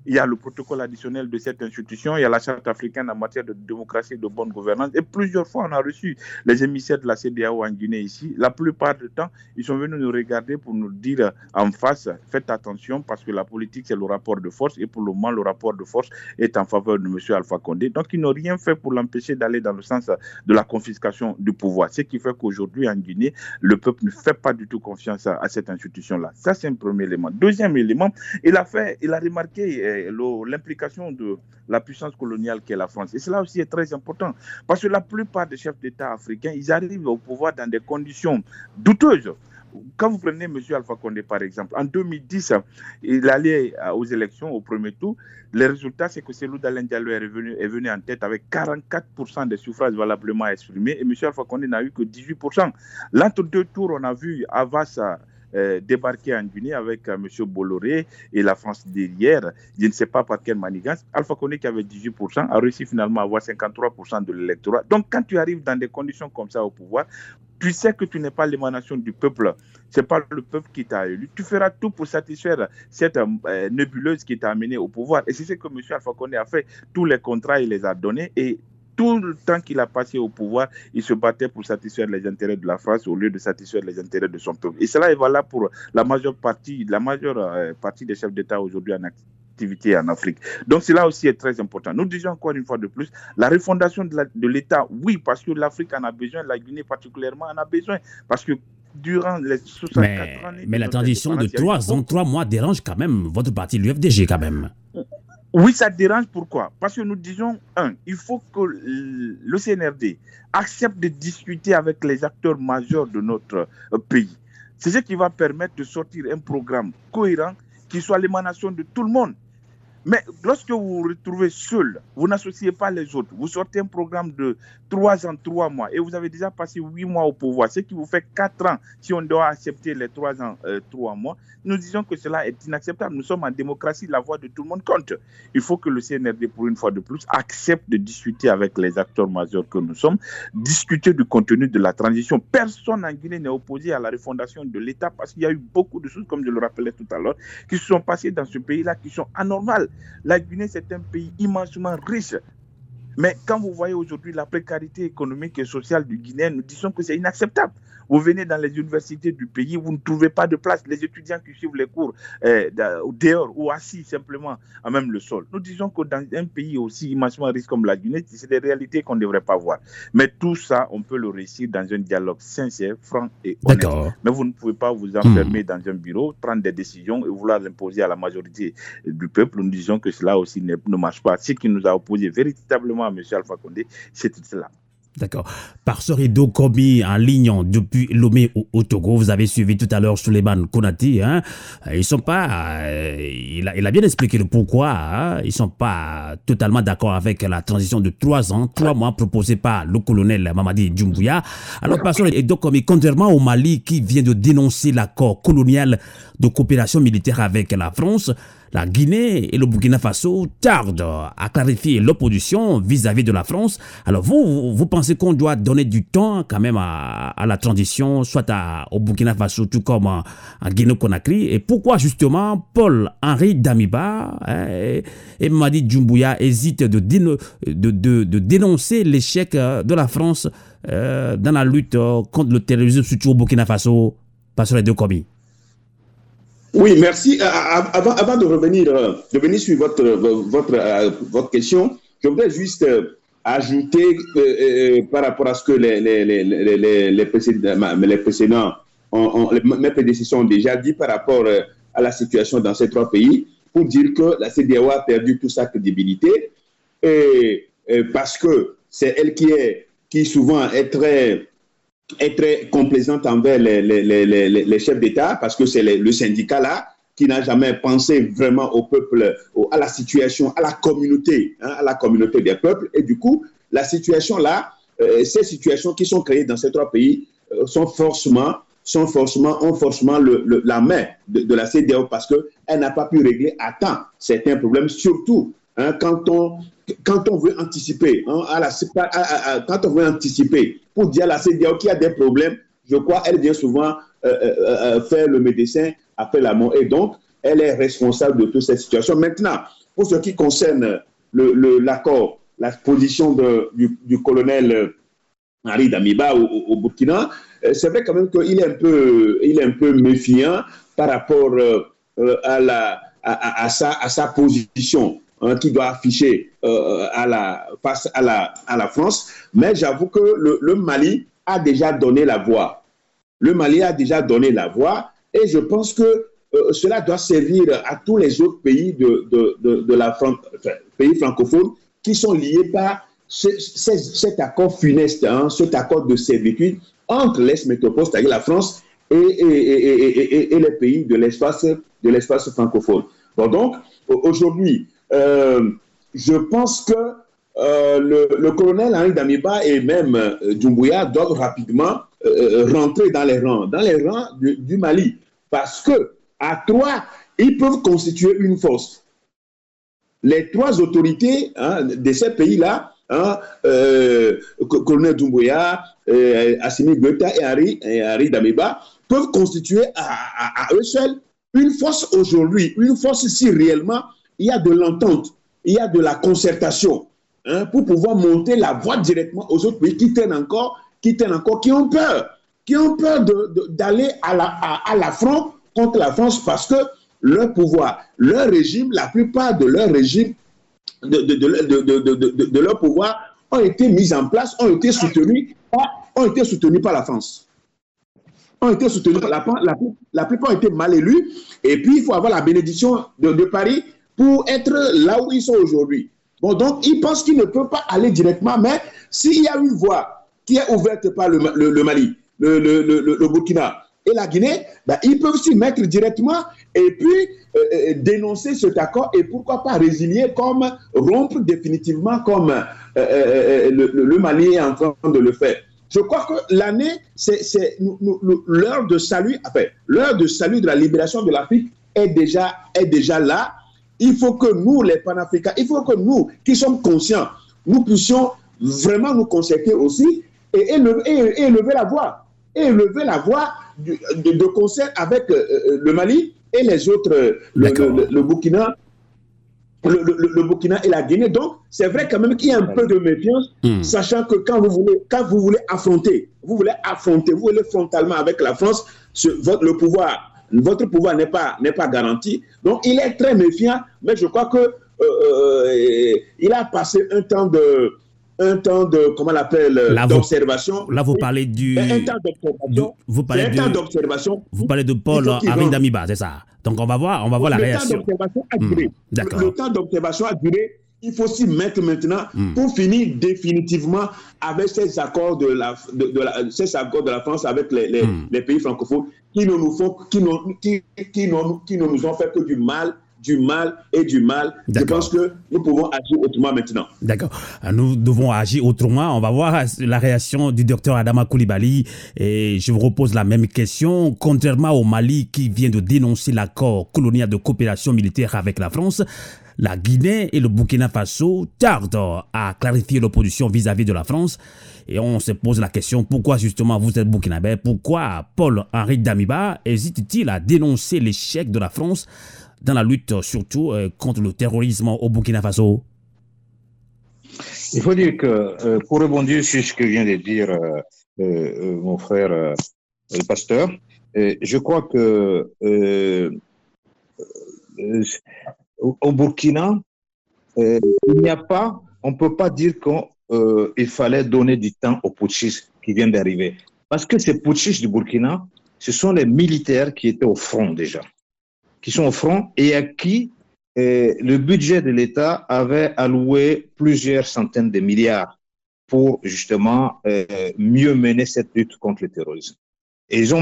il y a le protocole additionnel de cette institution, il y a la charte africaine en matière de démocratie et de bonne gouvernance. Et plusieurs fois, on a reçu les émissaires de la CEDEAO en Guinée ici. La plupart du temps, ils sont venus nous regarder pour nous dire en face, faites attention parce que la politique, c'est le rapport de force. Et pour le moment, le rapport de force est en faveur de M. Alpha Condé. Donc, ils n'ont rien fait pour l'empêcher d'aller dans le sens de la confiscation du pouvoir. Ce qui fait qu'aujourd'hui, en Guinée, le peuple ne fait pas du tout confiance à cette institution-là. Ça, c'est un premier élément. Deuxième élément, il a remarqué l'implication de la puissance coloniale qu'est la France. Et cela aussi est très important parce que la plupart des chefs d'État africains, ils arrivent au pouvoir dans des conditions douteuses. Quand vous prenez M. Alpha Condé, par exemple, en 2010, il allait aux élections au premier tour. Les résultats, c'est que Cellou Dalein Diallo est venu en tête avec 44% des suffrages valablement exprimés et M. Alpha Condé n'a eu que 18%. L'entre deux tours, on a vu Havas débarquer en Guinée avec M. Bolloré et la France derrière. Je ne sais pas par quelle manigance. Alpha Condé, qui avait 18%, a réussi finalement à avoir 53% de l'électorat. Donc, quand tu arrives dans des conditions comme ça au pouvoir, tu sais que tu n'es pas l'émanation du peuple. Ce n'est pas le peuple qui t'a élu. Tu feras tout pour satisfaire cette nébuleuse qui t'a amené au pouvoir. Et c'est ce que M. Alpha Condé a fait. Tous les contrats, il les a donnés et tout le temps qu'il a passé au pouvoir, il se battait pour satisfaire les intérêts de la France au lieu de satisfaire les intérêts de son peuple. Et cela est valable pour la majeure partie des chefs d'État aujourd'hui en activité en Afrique. Donc cela aussi est très important. Nous disons encore une fois de plus, la refondation de l'État, oui, parce que l'Afrique en a besoin, la Guinée particulièrement en a besoin, parce que durant les 64 années... Mais la transition de 3 ans, 3 mois dérange quand même votre parti, l'UFDG quand même. Oui, ça dérange. Pourquoi? Parce que nous disons, il faut que le CNRD accepte de discuter avec les acteurs majeurs de notre pays. C'est ce qui va permettre de sortir un programme cohérent qui soit l'émanation de tout le monde. Mais lorsque vous vous retrouvez seul, vous n'associez pas les autres, vous sortez un programme de 3 ans, 3 mois, et vous avez déjà passé 8 mois au pouvoir, ce qui vous fait 4 ans si on doit accepter les 3 ans, 3 mois. Nous disons que cela est inacceptable. Nous sommes en démocratie, la voix de tout le monde compte. Il faut que le CNRD, pour une fois de plus, accepte de discuter avec les acteurs majeurs que nous sommes, discuter du contenu de la transition. Personne en Guinée n'est opposé à la refondation de l'État parce qu'il y a eu beaucoup de choses, comme je le rappelais tout à l'heure, qui se sont passées dans ce pays-là, qui sont anormales. La Guinée, c'est un pays immensement riche. Mais quand vous voyez aujourd'hui la précarité économique et sociale du Guinéen, nous disons que c'est inacceptable. Vous venez dans les universités du pays, vous ne trouvez pas de place. Les étudiants qui suivent les cours dehors ou assis simplement à même le sol. Nous disons que dans un pays aussi immensement riche comme la Guinée, c'est des réalités qu'on ne devrait pas voir. Mais tout ça, on peut le réussir dans un dialogue sincère, franc et honnête. D'accord. Mais vous ne pouvez pas vous enfermer dans un bureau, prendre des décisions et vouloir l'imposer à la majorité du peuple. Nous disons que cela aussi ne marche pas. Ce qui nous a opposé véritablement à M. Alpha Condé, c'est cela. D'accord. Par ce rideau commis en ligne depuis Lomé au Togo, vous avez suivi tout à l'heure Souleymane Konati. Ils sont pas. Il a bien expliqué le pourquoi. Ils sont pas totalement d'accord avec la transition de 3 ans, 3 mois proposée par le colonel Mamadi Doumbouya. Alors, par ce rideau commis, contrairement au Mali qui vient de dénoncer l'accord colonial de coopération militaire avec la France, la Guinée et le Burkina Faso tardent à clarifier l'opposition vis-à-vis de la France. Alors vous pensez qu'on doit donner du temps quand même à la transition, soit au Burkina Faso, tout comme en Guinée-Conakry. Et pourquoi justement Paul-Henri Damiba et Mamadi Doumbouya hésitent de dénoncer l'échec de la France dans la lutte contre le terrorisme, surtout au Burkina Faso, par les deux commis? Oui, merci. Avant de revenir sur votre question, je voudrais juste ajouter par rapport à ce que mes prédécesseurs ont déjà dit par rapport à la situation dans ces 3 pays, pour dire que la CEDEAO a perdu toute sa crédibilité parce que c'est elle qui souvent est très complaisante envers les chefs d'État, parce que c'est le syndicat là qui n'a jamais pensé vraiment au peuple, à la situation, à la communauté des peuples. Et du coup, la situation là, ces situations qui sont créées dans ces 3 pays ont forcément la main de la CEDEAO parce qu'elle n'a pas pu régler à temps certains problèmes, surtout quand on veut anticiper, quand on veut anticiper pour dire à la CEDEAO qu'il y a des problèmes, je crois qu'elle vient souvent faire le médecin après la mort. Et donc, elle est responsable de toute cette situation. Maintenant, pour ce qui concerne l'accord, la position du colonel Henri Damiba au Burkina, c'est vrai quand même qu'il est un peu méfiant par rapport à sa position qu'il doit afficher face à la France. Mais j'avoue que le Mali a déjà donné la voix. Le Mali a déjà donné la voix et je pense que cela doit servir à tous les autres pays pays francophones qui sont liés par cet accord funeste, cet accord de servitude entre l'ex-métropole, c'est-à-dire la France, et les pays de l'espace francophone. Bon, donc, aujourd'hui, je pense que le colonel Henri Damiba et même Doumbouya doivent rapidement rentrer dans les rangs du Mali. Parce que à trois, ils peuvent constituer une force. Les trois autorités de ces pays-là, colonel Doumbouya, Assimi Goïta et Henri Damiba, peuvent constituer à eux seuls une force aujourd'hui, une force si réellement il y a de l'entente, il y a de la concertation, pour pouvoir monter la voie directement aux autres pays qui ont peur d'aller à l'affront contre la France parce que leur pouvoir, leur régime, la plupart de leur régime, de leur pouvoir ont été mis en place, ont été soutenus par la France. La plupart ont été mal élus et puis il faut avoir la bénédiction de Paris pour être là où ils sont aujourd'hui. Bon, donc ils pensent qu'ils ne peuvent pas aller directement, mais s'il y a une voie qui est ouverte par le Mali, le Burkina et la Guinée, ils peuvent s'y mettre directement et puis dénoncer cet accord et pourquoi pas résilier comme rompre définitivement comme le Mali est en train de le faire. Je crois que l'année, c'est l'heure de salut, l'heure de salut de la libération de l'Afrique est déjà là. Il faut que nous, les panafricains, il faut que nous, qui sommes conscients, nous puissions vraiment nous concerter aussi et élever la voix. Et élever la voix de concert avec le Mali et les autres, le Burkina. Le Burkina et la Guinée. Donc, c'est vrai quand même qu'il y a un peu de méfiance, sachant que quand vous voulez affronter, vous voulez frontalement avec la France, votre pouvoir n'est pas garanti. Donc, il est très méfiant, mais je crois que il a passé un temps de comment on l'appelle, d'observation. Là, vous parlez un temps d'observation. Vous parlez de Paul Henri Damiba, c'est ça? Donc, on va voir la réaction. Le temps d'observation a duré. Il faut s'y mettre maintenant pour finir définitivement avec ces accords de la France avec les pays francophones qui ne nous ont fait que du mal. Je pense que nous pouvons agir autrement maintenant. D'accord. Nous devons agir autrement. On va voir la réaction du docteur Adama Coulibaly. Et je vous repose la même question. Contrairement au Mali qui vient de dénoncer l'accord colonial de coopération militaire avec la France, la Guinée et le Burkina Faso tardent à clarifier l'opposition vis-à-vis de la France. Et on se pose la question, pourquoi justement vous êtes burkinabé? Pourquoi Paul-Henri Damiba hésite-t-il à dénoncer l'échec de la France dans la lutte surtout contre le terrorisme au Burkina Faso? Il faut dire que, pour rebondir sur ce que vient de dire mon frère le pasteur, je crois que au Burkina, il n'y a pas, on ne peut pas dire qu'il fallait donner du temps aux putschistes qui viennent d'arriver. Parce que ces putschistes du Burkina, ce sont les militaires qui étaient au front déjà, qui sont au front et à qui le budget de l'État avait alloué plusieurs centaines de milliards pour justement mieux mener cette lutte contre le terrorisme. Et ils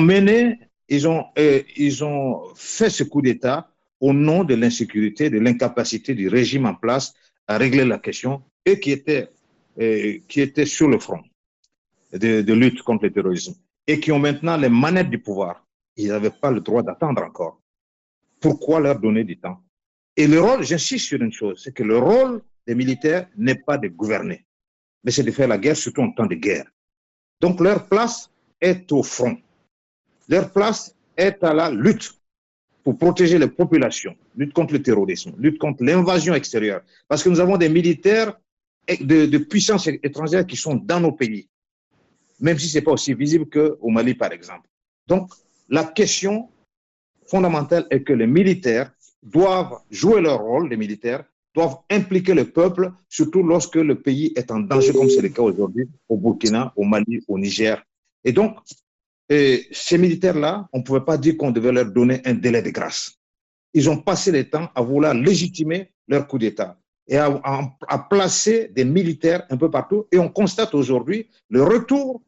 ont fait ce coup d'État au nom de l'insécurité, de l'incapacité du régime en place à régler la question et qui étaient sur le front de lutte contre le terrorisme et qui ont maintenant les manettes du pouvoir. Ils n'avaient pas le droit d'attendre encore. Pourquoi leur donner du temps? Et le rôle, j'insiste sur une chose, c'est que le rôle des militaires n'est pas de gouverner, mais c'est de faire la guerre, surtout en temps de guerre. Donc leur place est au front. Leur place est à la lutte. pour protéger les populations, lutte contre le terrorisme, lutte contre l'invasion extérieure. Parce que nous avons des militaires de puissances étrangères qui sont dans nos pays, même si ce n'est pas aussi visible qu'au Mali, par exemple. Donc, la question fondamentale est que les militaires doivent jouer leur rôle, les militaires doivent impliquer le peuple, surtout lorsque le pays est en danger, comme c'est le cas aujourd'hui au Burkina, au Mali, au Niger. Et donc, ces militaires-là, on ne pouvait pas dire qu'on devait leur donner un délai de grâce. Ils ont passé le temps à vouloir légitimer leur coup d'État et à placer des militaires un peu partout. Et on constate aujourd'hui le retour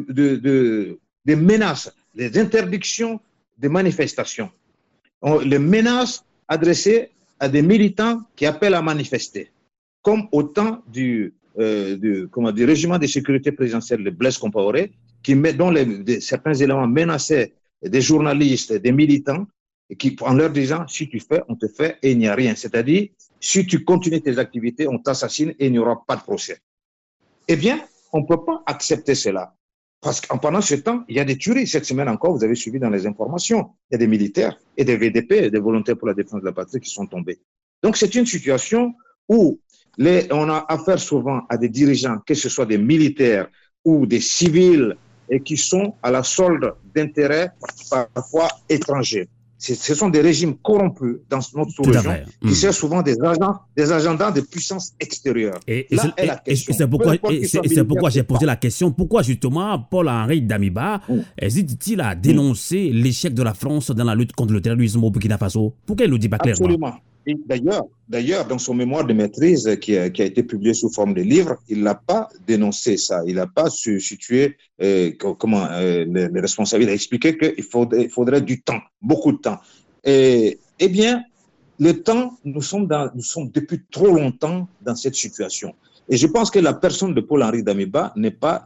des menaces, des interdictions de manifestations. Les menaces adressées à des militants qui appellent à manifester, comme au temps du régiment de sécurité présidentielle de Blaise Compaoré, dont certains éléments menaçaient des journalistes, des militants, en leur disant, si tu fais, on te fait et il n'y a rien. C'est-à-dire, si tu continues tes activités, on t'assassine et il n'y aura pas de procès. Eh bien, on ne peut pas accepter cela. Parce que pendant ce temps, il y a des tueries. Cette semaine encore, vous avez suivi dans les informations, il y a des militaires et des VDP, des volontaires pour la défense de la patrie qui sont tombés. Donc, c'est une situation où on a affaire souvent à des dirigeants, que ce soit des militaires ou des civils, et qui sont à la solde d'intérêts parfois étrangers. Ce sont des régimes corrompus dans notre sous-région qui servent souvent des agendas de puissance extérieure. Et c'est pourquoi j'ai posé la question. Pourquoi justement Paul-Henri Damiba hésite-t-il à dénoncer l'échec de la France dans la lutte contre le terrorisme au Burkina Faso? Pourquoi il ne le dit pas clairement? Absolument. Et d'ailleurs, dans son mémoire de maîtrise qui a été publié sous forme de livre, il n'a pas dénoncé ça. Il n'a pas situé les responsables. Il a expliqué qu'il faudrait du temps, beaucoup de temps. Eh bien, le temps, nous sommes depuis trop longtemps dans cette situation. Et je pense que la personne de Paul-Henri Damiba n'est pas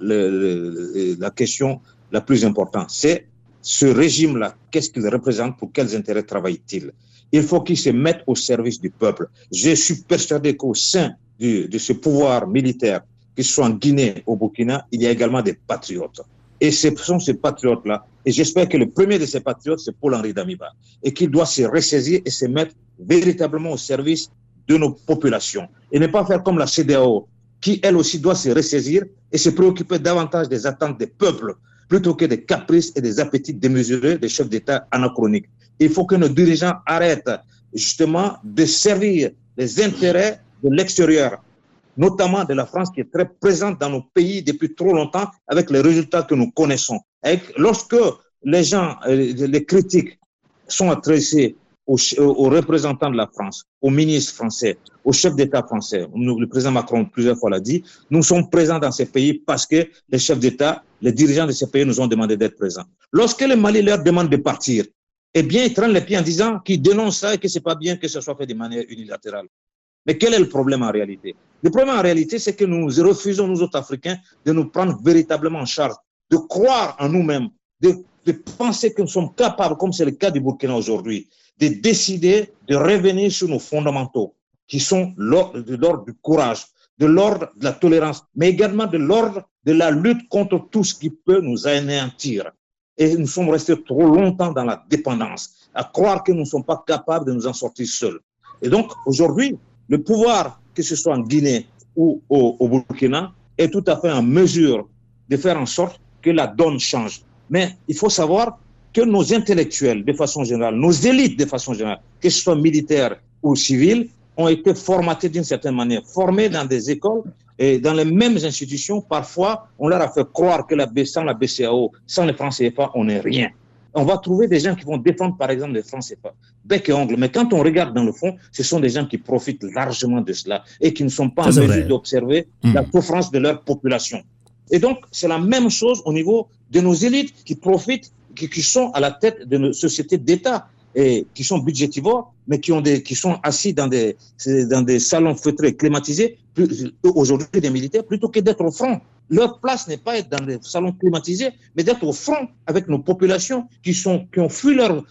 la question la plus importante. C'est ce régime-là, qu'est-ce qu'il représente, pour quels intérêts travaille-t-il? Il faut qu'il se mette au service du peuple. Je suis persuadé qu'au sein de ce pouvoir militaire, que ce soit en Guinée, au Burkina, il y a également des patriotes. Et ce sont ces patriotes-là. Et j'espère que le premier de ces patriotes, c'est Paul-Henri Damiba. Et qu'il doit se ressaisir et se mettre véritablement au service de nos populations. Et ne pas faire comme la CEDEAO, qui elle aussi doit se ressaisir et se préoccuper davantage des attentes des peuples, plutôt que des caprices et des appétits démesurés des chefs d'État anachroniques. Il faut que nos dirigeants arrêtent justement de servir les intérêts de l'extérieur, notamment de la France qui est très présente dans nos pays depuis trop longtemps avec les résultats que nous connaissons. Lorsque les gens, les critiques sont adressées aux représentants de la France, aux ministres français, aux chefs d'État français, le président Macron plusieurs fois l'a dit, nous sommes présents dans ces pays parce que les chefs d'État, les dirigeants de ces pays nous ont demandé d'être présents. Lorsque le Mali leur demande de partir, eh bien, ils traînent les pieds en disant qu'ils dénoncent ça et que c'est pas bien que ce soit fait de manière unilatérale. Mais quel est le problème en réalité? Le problème en réalité, c'est que nous refusons, nous autres Africains, de nous prendre véritablement en charge, de croire en nous-mêmes, de penser que nous sommes capables, comme c'est le cas du Burkina aujourd'hui, de décider de revenir sur nos fondamentaux, qui sont de l'ordre du courage, de l'ordre de la tolérance, mais également de l'ordre de la lutte contre tout ce qui peut nous anéantir. Et nous sommes restés trop longtemps dans la dépendance, à croire que nous ne sommes pas capables de nous en sortir seuls. Et donc, aujourd'hui, le pouvoir, que ce soit en Guinée ou au Burkina, est tout à fait en mesure de faire en sorte que la donne change. Mais il faut savoir que nos intellectuels, de façon générale, nos élites, de façon générale, que ce soit militaires ou civils, ont été formatés d'une certaine manière, formés dans des écoles et dans les mêmes institutions. Parfois, on leur a fait croire que sans la BCEAO, sans les francs CFA, on n'est rien. On va trouver des gens qui vont défendre, par exemple, les francs CFA, bec et ongle. Mais quand on regarde dans le fond, ce sont des gens qui profitent largement de cela et qui ne sont pas en mesure d'observer la souffrance de leur population. Et donc, c'est la même chose au niveau de nos élites qui profitent, qui sont à la tête de nos sociétés d'État et qui sont budgétivores, mais qui sont assis dans des salons feutrés climatisés, aujourd'hui des militaires, plutôt que d'être au front. Leur place n'est pas être dans des salons climatisés, mais d'être au front avec nos populations qui ont fui leur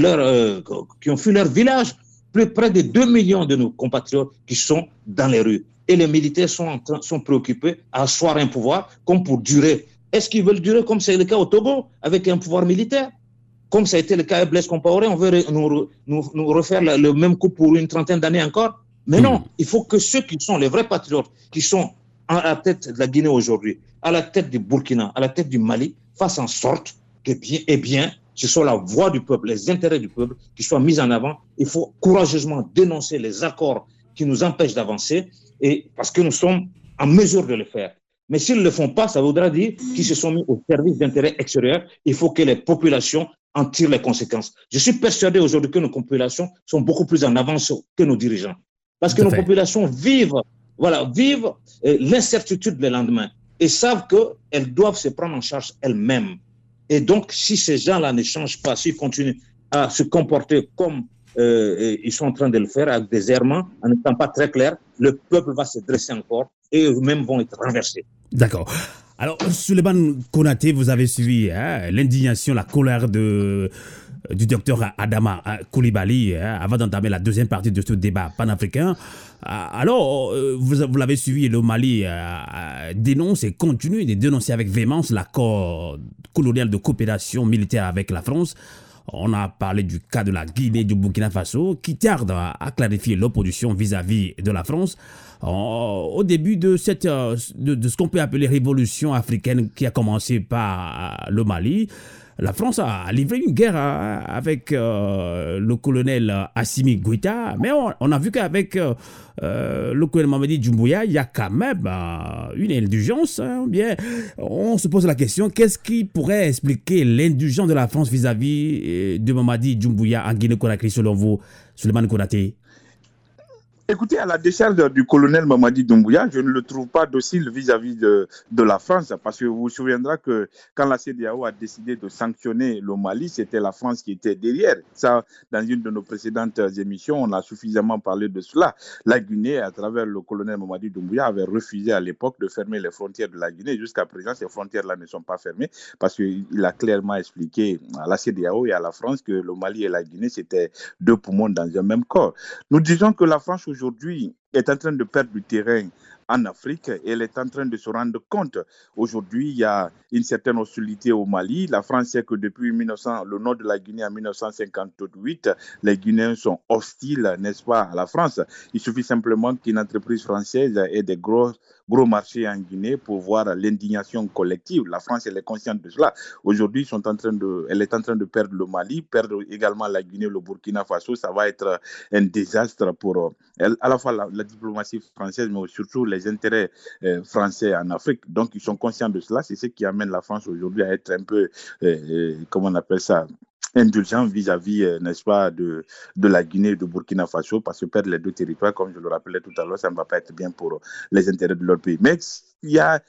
village. Près de 2 millions de nos compatriotes qui sont dans les rues. Et les militaires sont préoccupés à asseoir un pouvoir comme pour durer. Est-ce qu'ils veulent durer comme c'est le cas au Togo, avec un pouvoir militaire? comme ça a été le cas à Blaise Compaoré, on veut nous refaire le même coup pour une trentaine d'années encore. Mais non, il faut que ceux qui sont les vrais patriotes, qui sont à la tête de la Guinée aujourd'hui, à la tête du Burkina, à la tête du Mali, fassent en sorte que ce soit la voix du peuple, les intérêts du peuple qui soient mis en avant. Il faut courageusement dénoncer les accords qui nous empêchent d'avancer, et parce que nous sommes en mesure de le faire. Mais s'ils ne le font pas, ça voudra dire qu'ils se sont mis au service d'intérêts extérieurs. Il faut que les populations en tirent les conséquences. Je suis persuadé aujourd'hui que nos populations sont beaucoup plus en avance que nos dirigeants. Parce que nos populations vivent l'incertitude le lendemain et savent qu'elles doivent se prendre en charge elles-mêmes. Et donc, si ces gens-là ne changent pas, s'ils continuent à se comporter comme ils sont en train de le faire, avec des errements, en n'étant pas très clairs, le peuple va se dresser encore et eux-mêmes vont être renversés. D'accord. Alors, Souleymane Konaté, vous avez suivi l'indignation, la colère du docteur Adama Coulibaly avant d'entamer la deuxième partie de ce débat panafricain. Alors, vous l'avez suivi, le Mali dénonce et continue de dénoncer avec véhémence l'accord colonial de coopération militaire avec la France. On a parlé du cas de la Guinée, du Burkina Faso, qui tarde à clarifier l'opposition vis-à-vis de la France. Au début de ce qu'on peut appeler révolution africaine qui a commencé par le Mali, la France a livré une guerre avec le colonel Assimi Goïta, mais on a vu qu'avec le colonel Mamadi Doumbouya, il y a quand même une indulgence. Bien, on se pose la question, qu'est-ce qui pourrait expliquer l'indulgence de la France vis-à-vis de Mamadi Doumbouya en Guinée-Conakry, selon vous, Souleymane Konaté? Écoutez, à la décharge du colonel Mamadi Doumbouya, je ne le trouve pas docile vis-à-vis de la France, parce que vous vous souviendrez que quand la CEDEAO a décidé de sanctionner le Mali, c'était la France qui était derrière. Ça, dans une de nos précédentes émissions, on a suffisamment parlé de cela. La Guinée, à travers le colonel Mamadi Doumbouya, avait refusé à l'époque de fermer les frontières de la Guinée. Jusqu'à présent, ces frontières-là ne sont pas fermées, parce qu'il a clairement expliqué à la CEDEAO et à la France que le Mali et la Guinée, c'était deux poumons dans un même corps. Nous disons que la France aujourd'hui est en train de perdre du terrain en Afrique et elle est en train de se rendre compte. Aujourd'hui, il y a une certaine hostilité au Mali. La France sait que depuis le nord de la Guinée en 1958, les Guinéens sont hostiles, n'est-ce pas, à la France. Il suffit simplement qu'une entreprise française ait des gros marchés en Guinée pour voir l'indignation collective. La France, elle est consciente de cela. Aujourd'hui, elle est en train de perdre le Mali, perdre également la Guinée, le Burkina Faso. Ça va être un désastre pour à la fois la diplomatie française, mais surtout les intérêts français en Afrique. Donc, ils sont conscients de cela. C'est ce qui amène la France aujourd'hui à être un peu, comment on appelle ça, indulgent vis-à-vis, n'est-ce pas, de la Guinée et du Burkina Faso, parce que perdre les deux territoires, comme je le rappelais tout à l'heure, ça ne va pas être bien pour les intérêts de leur pays. Mais il y a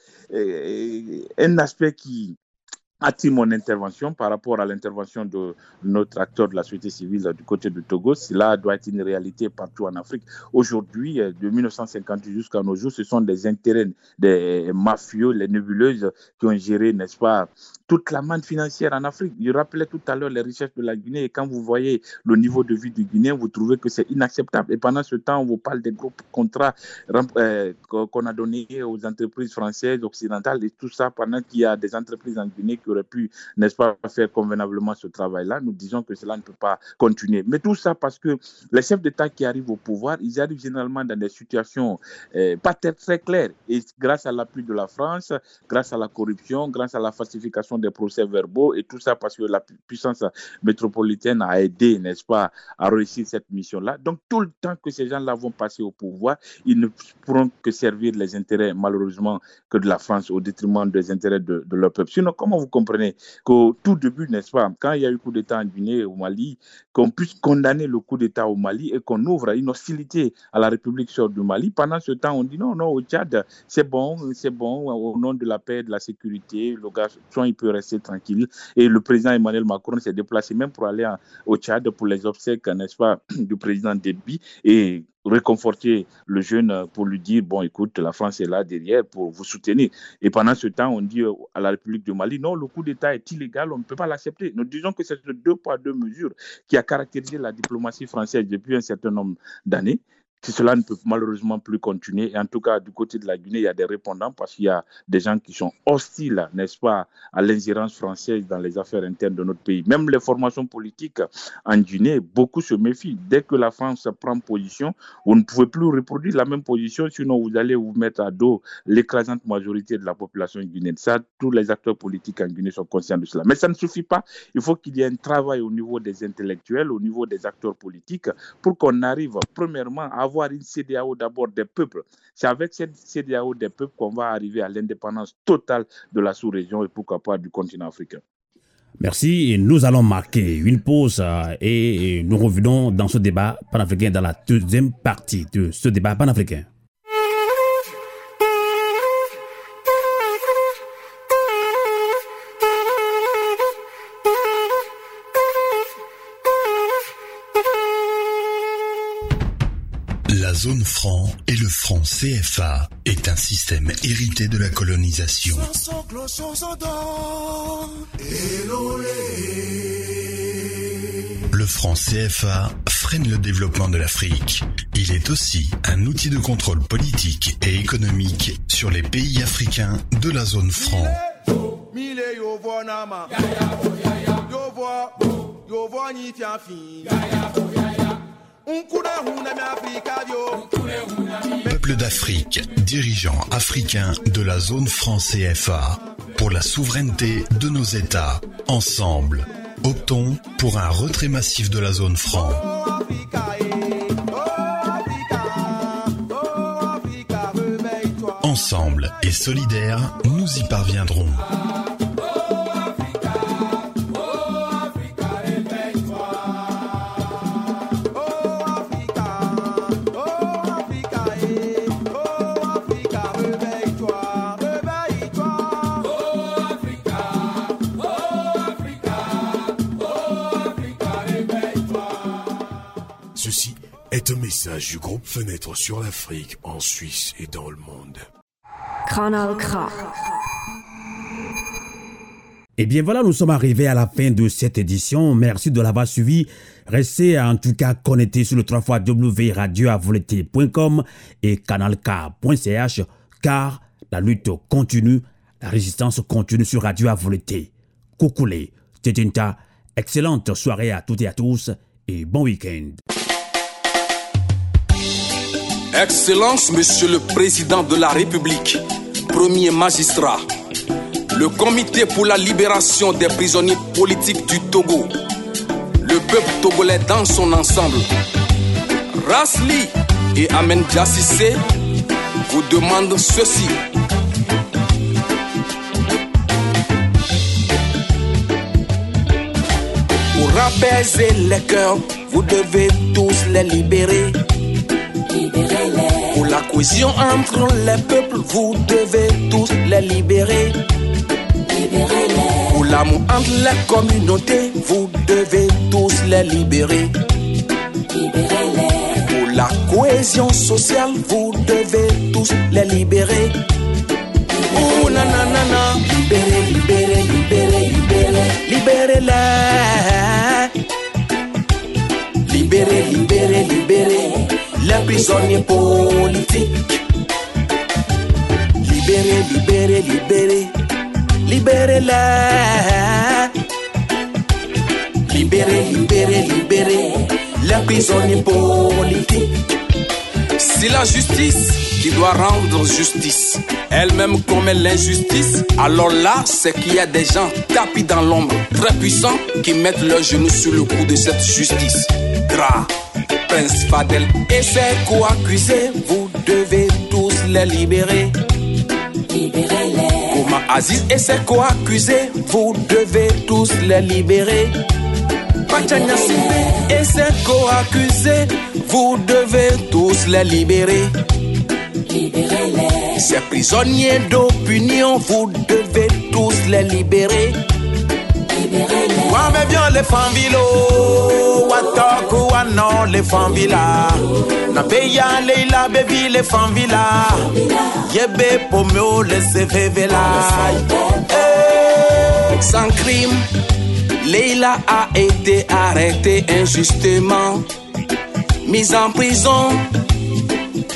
un aspect qui attire mon intervention par rapport à l'intervention de notre acteur de la société civile du côté du Togo. Cela doit être une réalité partout en Afrique. Aujourd'hui, de 1958 jusqu'à nos jours, ce sont des intérêts des mafieux, les nébuleuses qui ont géré, n'est-ce pas, toute la manne financière en Afrique. Je rappelais tout à l'heure les richesses de la Guinée et quand vous voyez le niveau de vie du Guinéen, vous trouvez que c'est inacceptable. Et pendant ce temps, on vous parle des gros contrats qu'on a donnés aux entreprises françaises, occidentales et tout ça pendant qu'il y a des entreprises en Guinée qui auraient pu, n'est-ce pas, faire convenablement ce travail-là. Nous disons que cela ne peut pas continuer. Mais tout ça parce que les chefs d'État qui arrivent au pouvoir, ils arrivent généralement dans des situations pas très claires. Et grâce à l'appui de la France, grâce à la corruption, grâce à la falsification des procès-verbaux et tout ça parce que la puissance métropolitaine a aidé, n'est-ce pas, à réussir cette mission-là. Donc tout le temps que ces gens-là vont passer au pouvoir, ils ne pourront que servir les intérêts, malheureusement, que de la France au détriment des intérêts de leur peuple. Sinon, comment vous comprenez qu'au tout début, n'est-ce pas, quand il y a eu coup d'État en Guinée, au Mali, qu'on puisse condamner le coup d'État au Mali et qu'on ouvre une hostilité à la République sœur du Mali. Pendant ce temps, on dit non, au Tchad, c'est bon, au nom de la paix, de la sécurité, le gars, il peut rester tranquille. Et le président Emmanuel Macron s'est déplacé même pour aller au Tchad pour les obsèques, n'est-ce pas, du président Déby et réconforter le jeune pour lui dire, bon, écoute, la France est là derrière pour vous soutenir. Et pendant ce temps, on dit à la République du Mali, non, le coup d'État est illégal, on ne peut pas l'accepter. Nous disons que c'est ce 2 poids 2 mesures qui a caractérisé la diplomatie française depuis un certain nombre d'années. Cela ne peut malheureusement plus continuer. Et en tout cas, du côté de la Guinée, il y a des répondants parce qu'il y a des gens qui sont hostiles, n'est-ce pas, à l'ingérence française dans les affaires internes de notre pays. Même les formations politiques en Guinée, beaucoup se méfient. Dès que la France prend position, vous ne pouvez plus reproduire la même position, sinon vous allez vous mettre à dos l'écrasante majorité de la population guinéenne. Ça, tous les acteurs politiques en Guinée sont conscients de cela. Mais ça ne suffit pas. Il faut qu'il y ait un travail au niveau des intellectuels, au niveau des acteurs politiques, pour qu'on arrive, premièrement, à avoir une CEDEAO d'abord des peuples. C'est avec cette CEDEAO des peuples qu'on va arriver à l'indépendance totale de la sous-région et pourquoi pas du continent africain. Merci. Et nous allons marquer une pause et nous revenons dans ce débat panafricain dans la deuxième partie de ce débat panafricain. La zone franc et le franc CFA est un système hérité de la colonisation. Le franc CFA freine le développement de l'Afrique. Il est aussi un outil de contrôle politique et économique sur les pays africains de la zone franc. Peuple d'Afrique, dirigeants africains de la zone franc CFA, pour la souveraineté de nos États, ensemble, optons pour un retrait massif de la zone franc. Ensemble et solidaires, nous y parviendrons. Ceci est un message du groupe Fenêtre sur l'Afrique en Suisse et dans le monde. Kanal K. Et bien voilà, nous sommes arrivés à la fin de cette édition. Merci de l'avoir suivi. Restez en tout cas connectés sur le www.radioavolonté.com et canalk.ch car la lutte continue, la résistance continue sur Radio à Volonté. Coucoulé, Tétinta, excellente soirée à toutes et à tous et bon week-end. Excellence, Monsieur le Président de la République, Premier magistrat, le Comité pour la libération des prisonniers politiques du Togo, le peuple togolais dans son ensemble, Rasli et Amen Diassissé vous demandent ceci. Pour apaiser les cœurs, vous devez tous les libérer. Pour la cohésion entre les peuples, vous devez tous les libérer. Pour l'amour entre les communautés, vous devez tous les libérer. Pour la cohésion sociale, vous devez tous les libérer. Oh nanana, libérez, libérez, libérez, libérez, libérez-les. Libérez, libérez, libérez les prisonniers politiques. Libérez, libérez, libérez, libérez-les. Libérez, libérez, libérez les prisonniers politiques. C'est la justice qui doit rendre justice, elle-même commet l'injustice, alors là, c'est qu'il y a des gens tapis dans l'ombre, très puissants, qui mettent leurs genoux sur le cou de cette justice. Gras, Prince Fadel et ses co-accusés, vous devez tous les libérer. Libérez-les. Ouma Aziz et ses co-accusés, vous devez tous les libérer. Pachanya Simbe et ses co-accusés, vous devez tous les libérer. Libérez-les. Ces prisonniers d'opinion, vous devez tous les libérer. Libérez-les. Wa me bien les fambilo, wa toku wa non les fambila. Na beya leila baby les fambila. Yebe pomeo les sevevela. Sans crime, Leila a été arrêtée injustement, mise en prison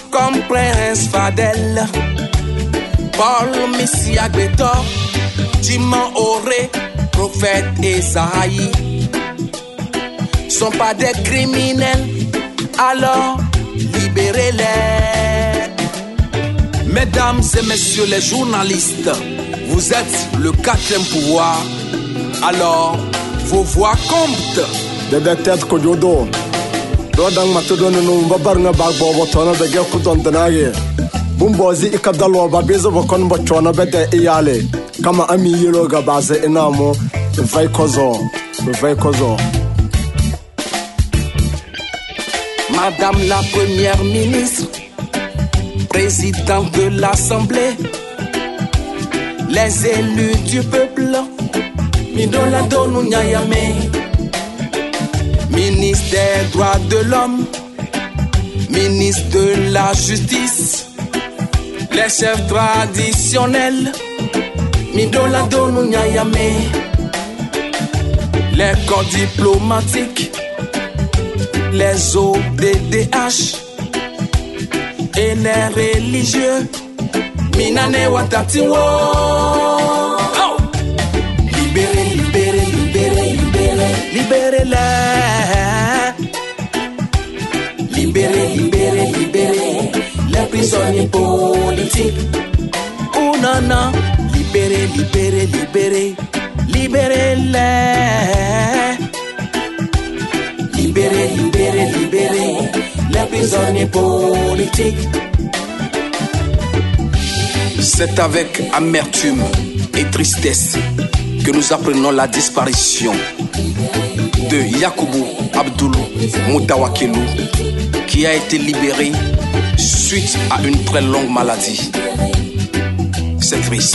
comme Prince Fadel, Paul Messia Betor, Timon Oré, Prophète Esaïe, sont pas des criminels, alors libérez-les. Mesdames et messieurs les journalistes, vous êtes le 4e pouvoir, alors vos voix comptent. Dede tête ko jodo. Dodang matodone no babar nga bag bobo tono de ge kudon danage. Bumbozi ikadalo babezo bokon bochona bede iyale. Kama ami yelo ga base enamo vai kozo. Madame la première ministre, présidente de l'Assemblée, les élus du peuple, Midola Donu Nyayame, ministre des droits de l'homme, ministre de la justice, les chefs traditionnels, Midola Donu Nyayame, les corps diplomatiques, les ODDH et les religieux, Minane Watatiwo. Oh! Libérez, libérez, libérez, libérez, libérez-les. Libérez, libérez, libérez les prisonniers politiques. Oh non, non, libérez, libérez, libérez, libérez-les. Libérez, libérez, libérez les prisonniers politiques. C'est avec amertume et tristesse que nous apprenons la disparition de Yakubu Abdoulou Moutawakilou, qui a été libéré suite à une très longue maladie. C'est triste.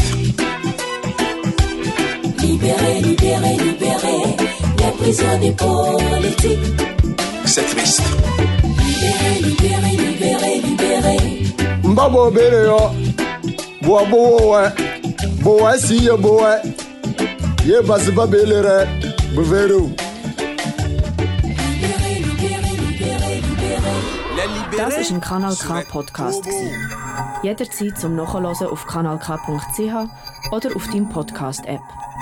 Libérez, libérez, libérez les prisonniers politiques. C'est triste. Libérez, libérez, libérez, libérez. Mbabo Bereo, Boaboe, Boa si Boe, Ye Basiba Belere, Bovero. Das war ein Kanal K Podcast. Jederzeit zum Nachhören auf kanalk.ch oder auf deinem Podcast-App.